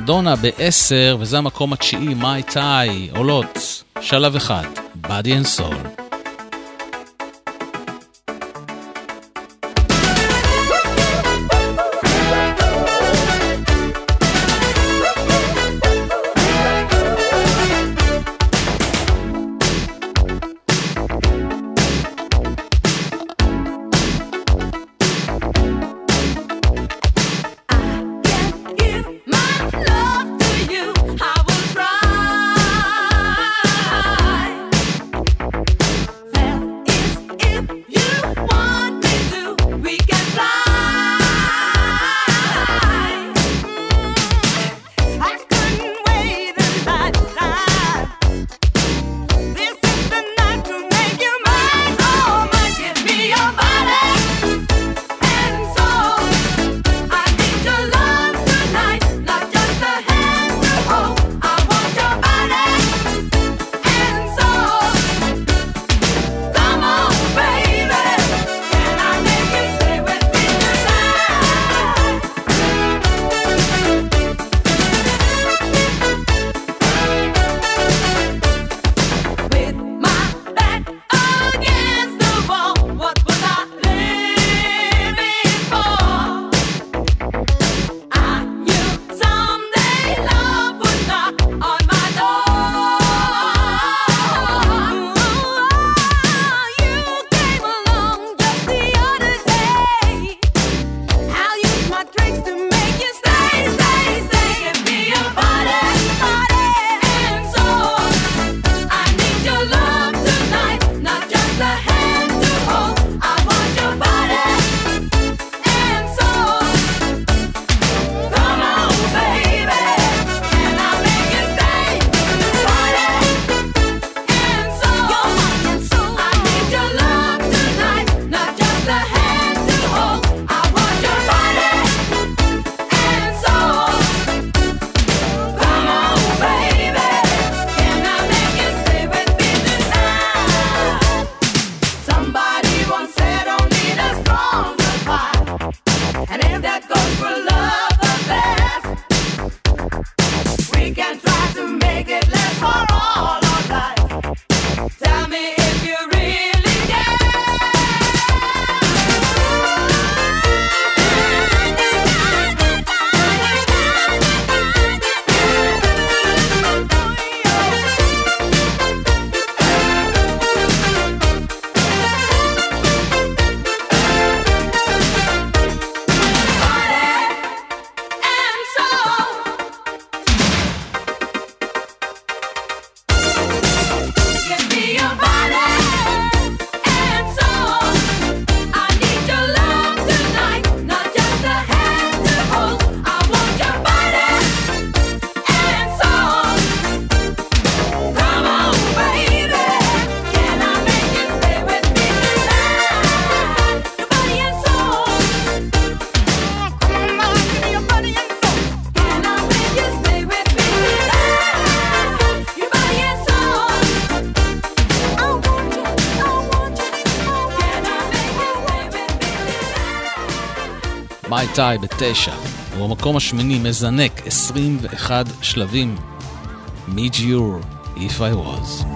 מדונה ב-10, וזה המקום התשיעי, מיי טאי, עולות, שלב אחד, Body and Soul. מיי טאי ב-9, ובמקום השמיני מזנק 21 שלבים, Meet You If I Was.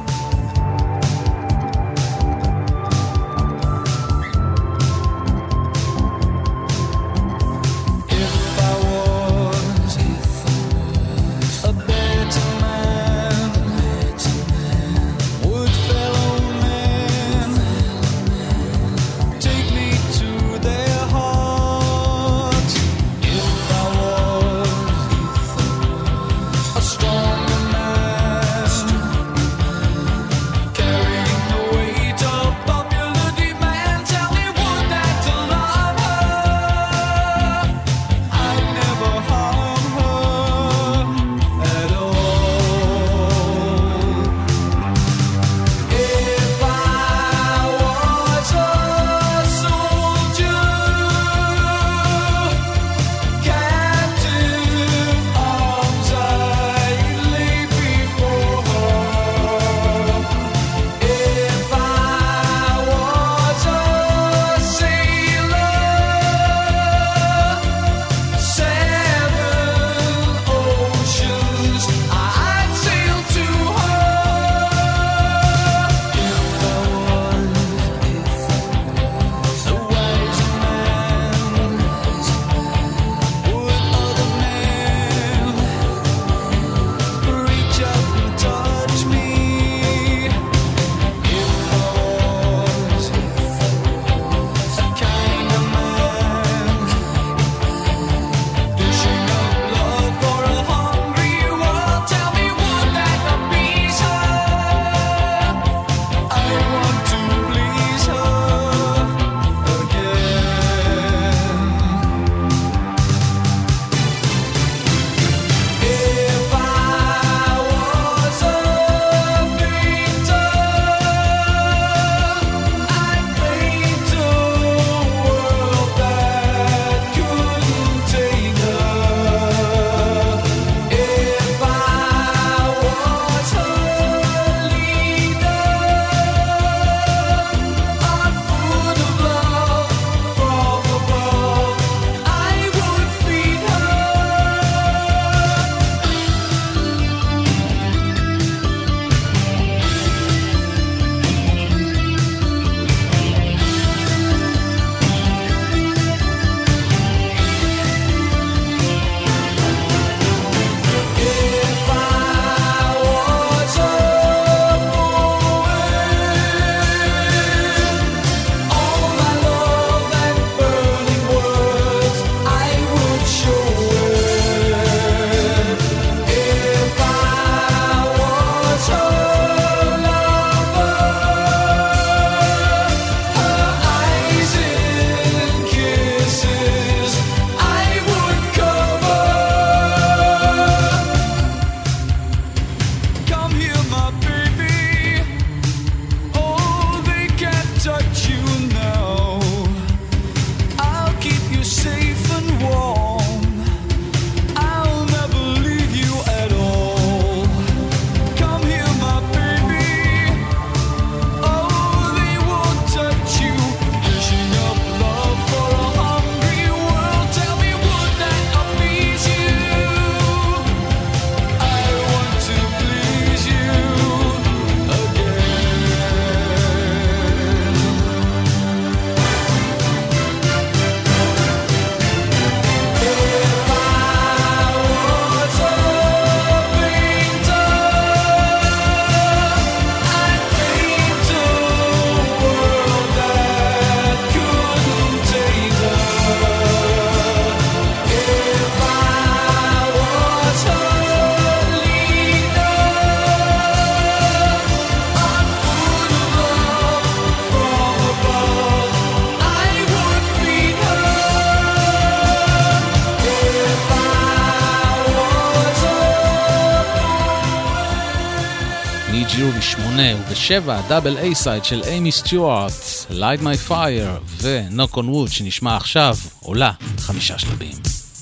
G וב-8 וב-7 דאבל A-סייד של אימי סטיוארט, Light My Fire ו-Knock on Wood שנשמע עכשיו, עולה 5 שלבים.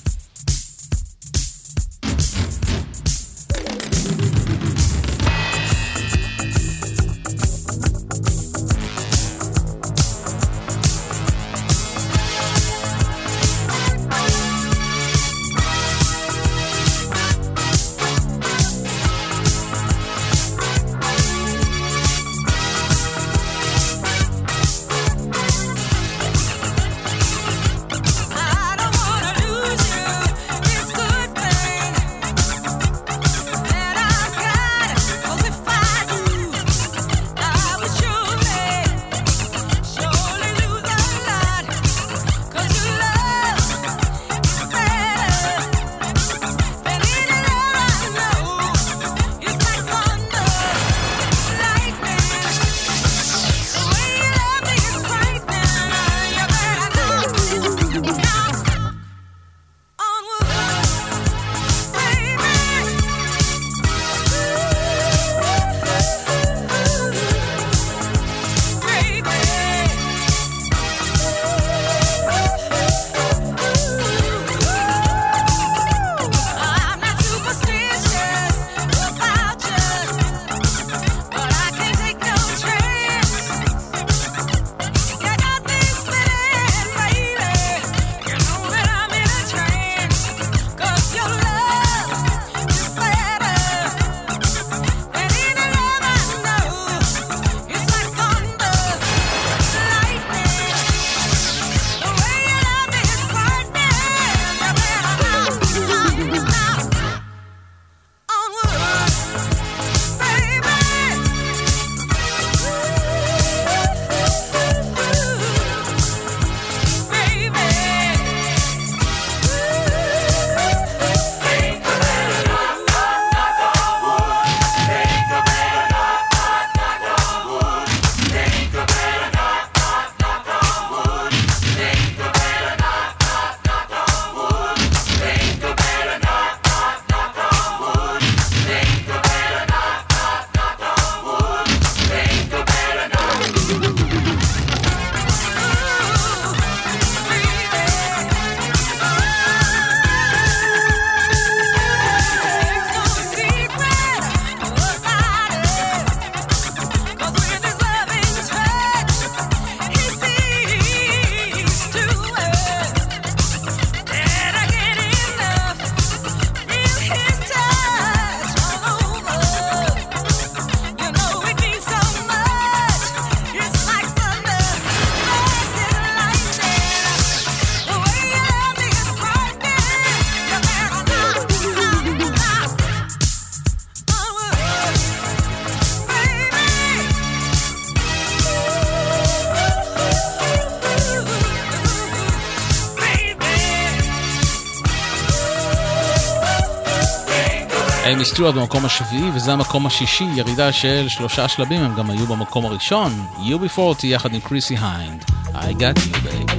אימי סטיוארט במקום השביעי, וזה המקום השישי, ירידה של 3 שלבים, הם גם היו במקום הראשון, UB40 יחד עם קריסי היינד, I got you babe.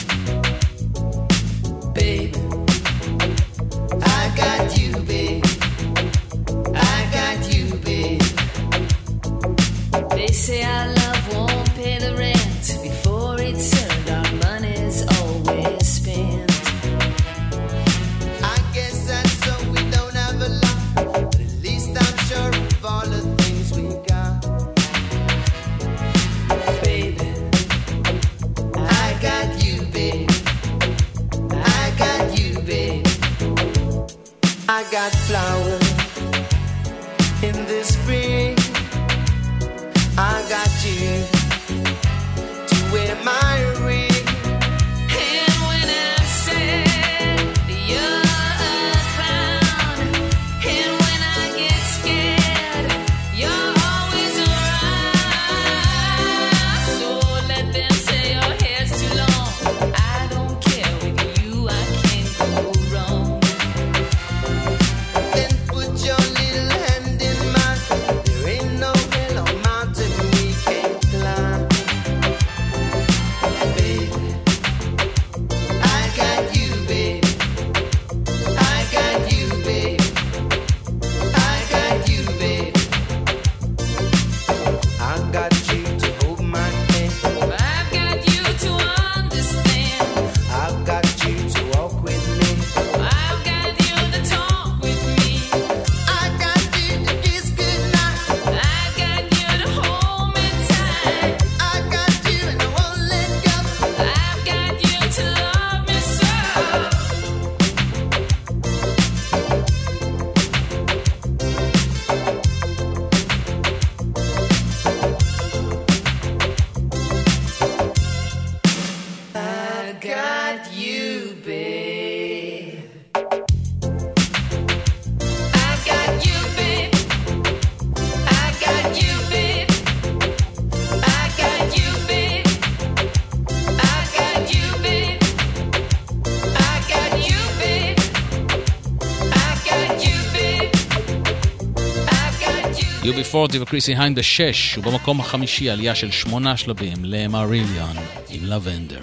I got you, babe. UB40 וקריסי היינד ב6, ובמקום החמישי עלייה של 8 שלבים למריליון עם לבנדר.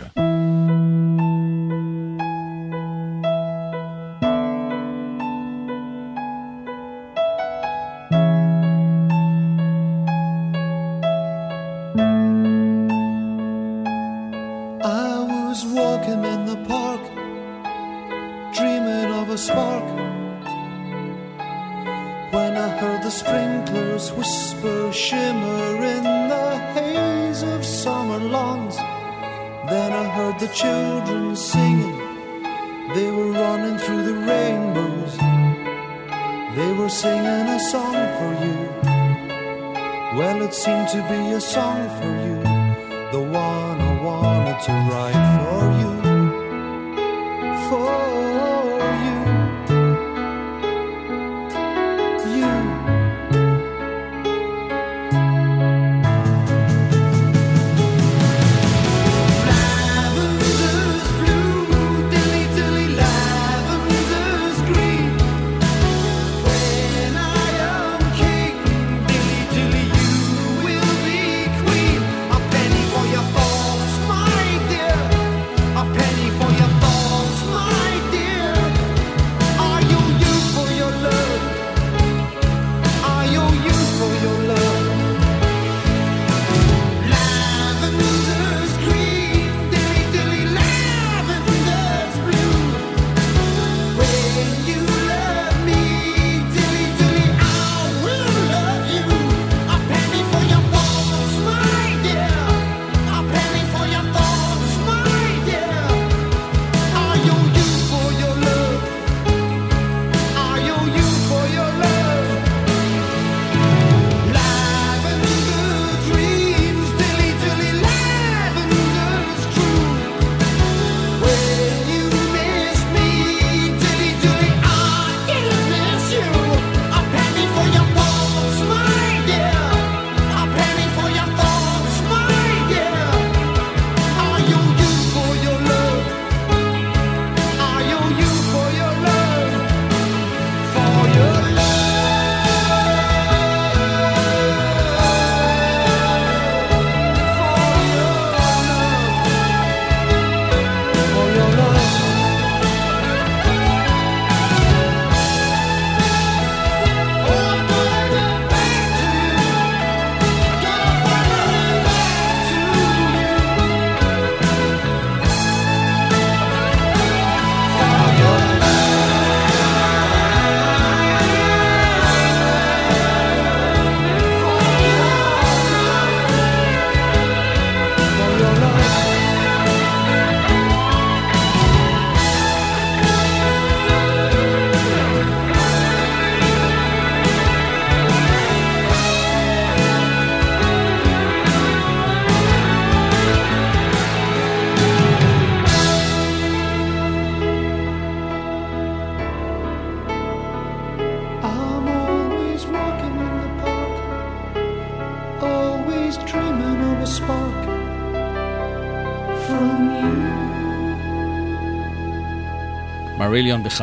מריליון ב5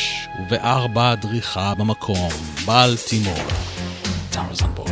וב4 דריכה במקום בלטימור טארזן בוי.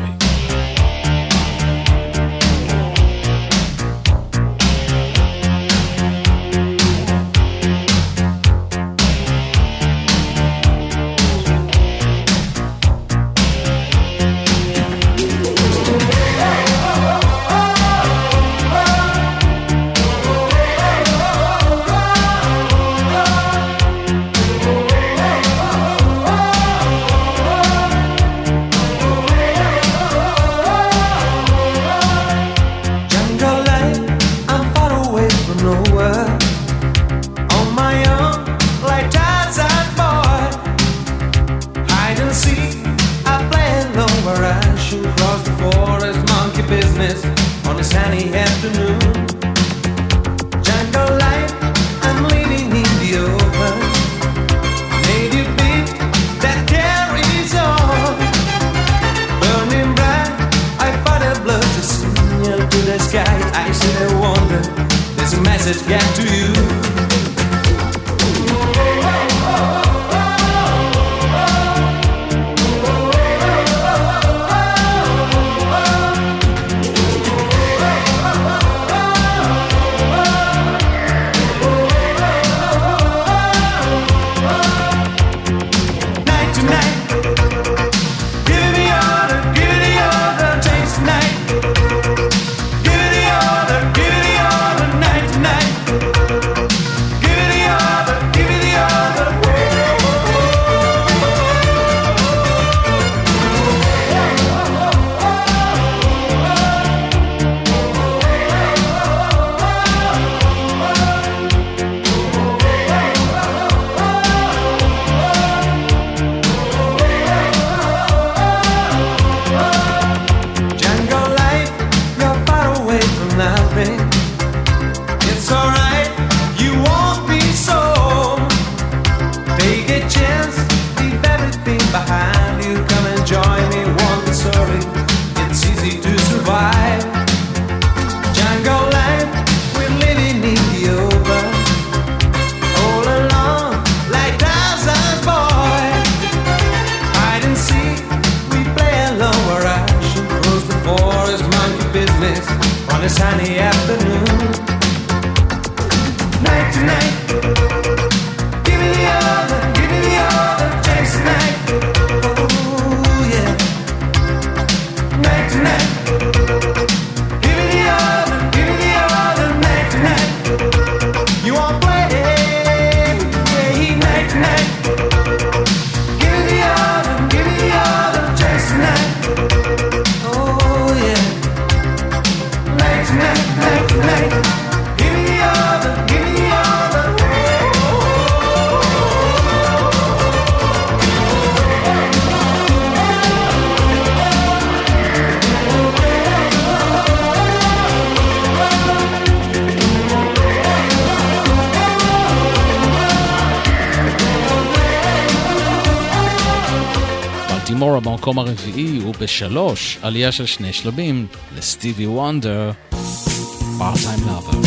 גילמורה במקום הרביעי, וב3 עלייה של 2 שלבים לסטיבי וונדר, Part-Time Lover.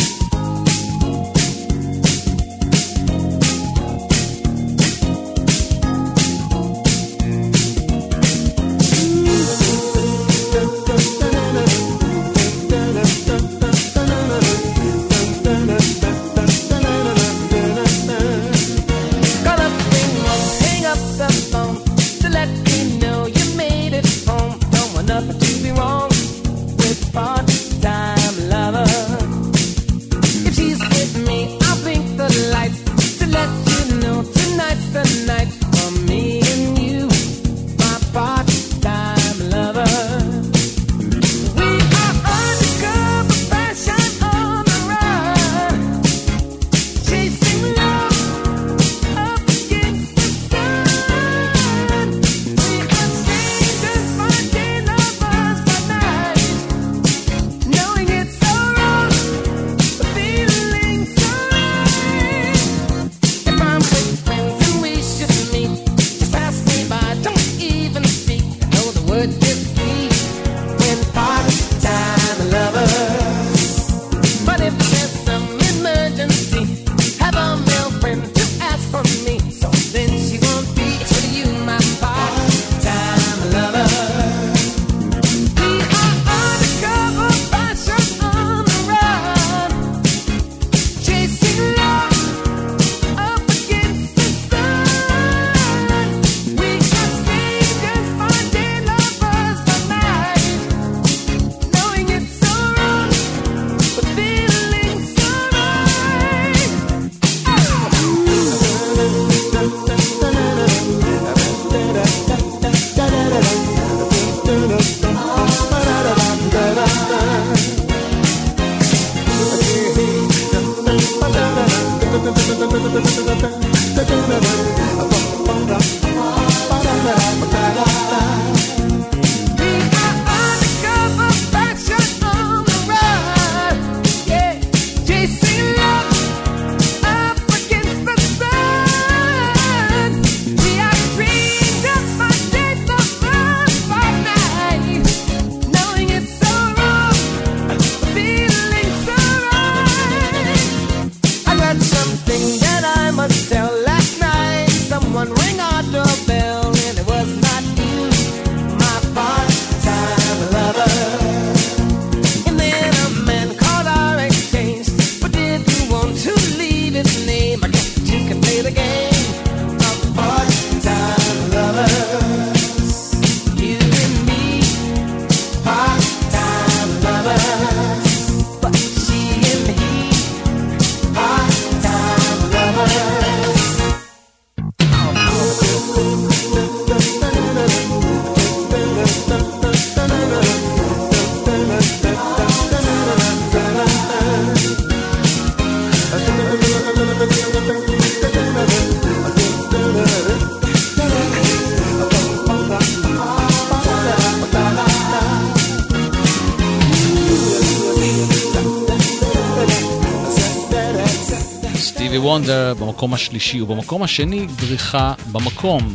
וונדר במקום השלישי, ובמקום השני דריכה במקום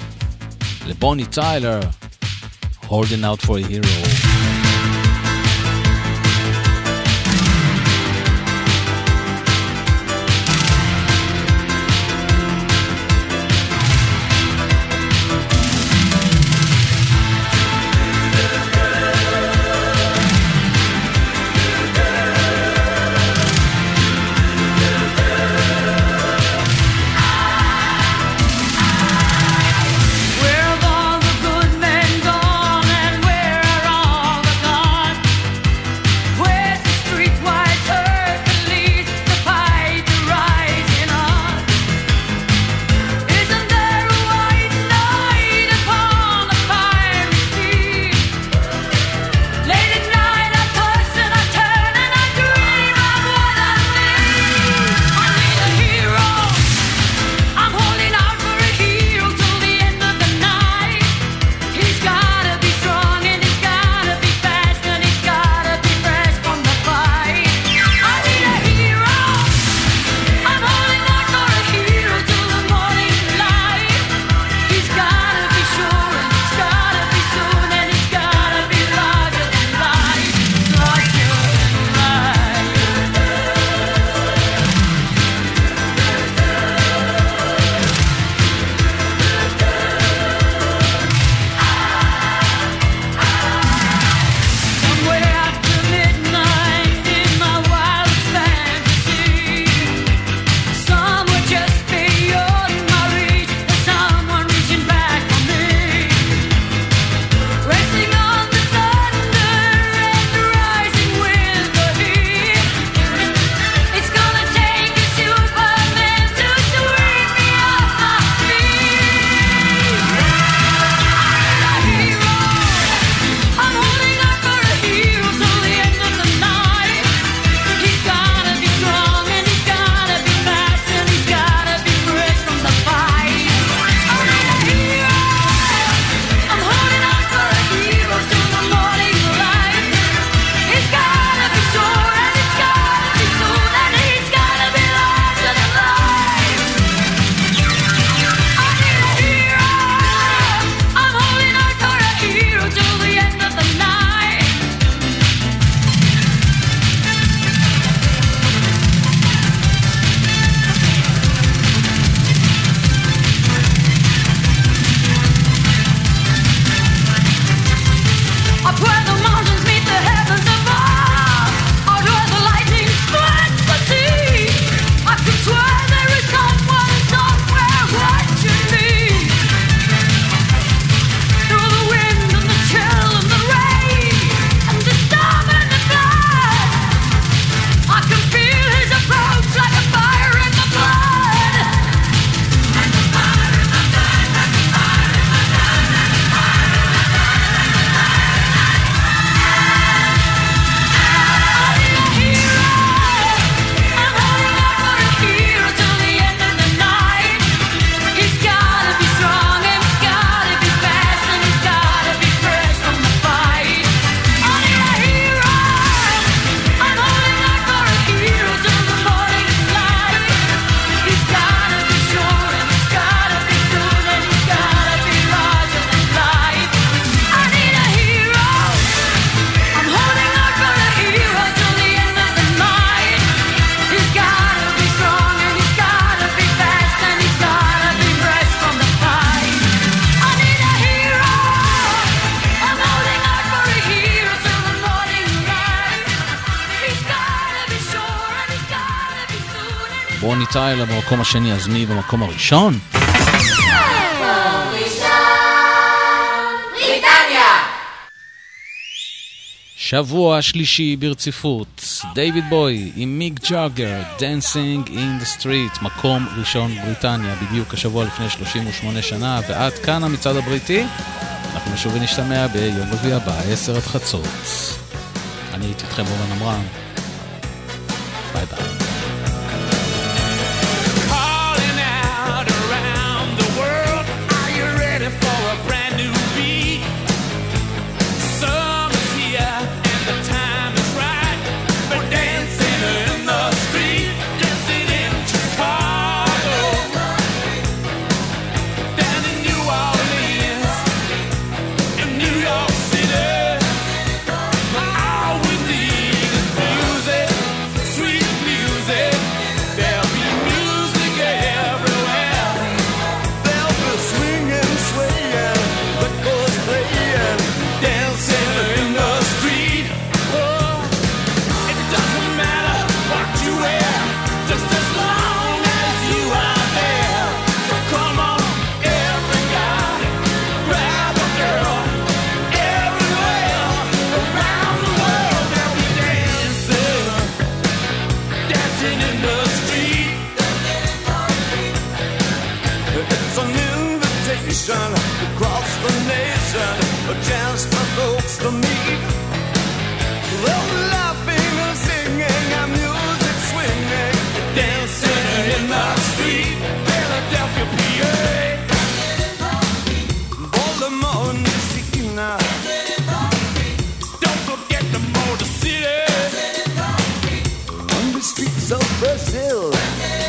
לבוני טיילר, Holding Out for a Hero. Where have all the good men gone, and where are all בוני טיילה במקום השני, אז מי במקום הראשון? שבוע שלישי ברציפות, דיוויד בוי עם מיק ג'אגר, Dancing in the Street, מקום ראשון בריטניה, בדיוק השבוע לפני 38 שנה, ועד כאן המצעד הבריטי. אנחנו שוב נשתמע ביום רביעי הבא, 10:00. אני הייתי איתכם אורן עמרם. ביי ביי. Across the nation, a chance for folks to meet. Well, laughing and singing and music swinging, dancing in the street, Philadelphia, PA. Baltimore, Messina. Don't forget the Motor City. On the streets of Brazil.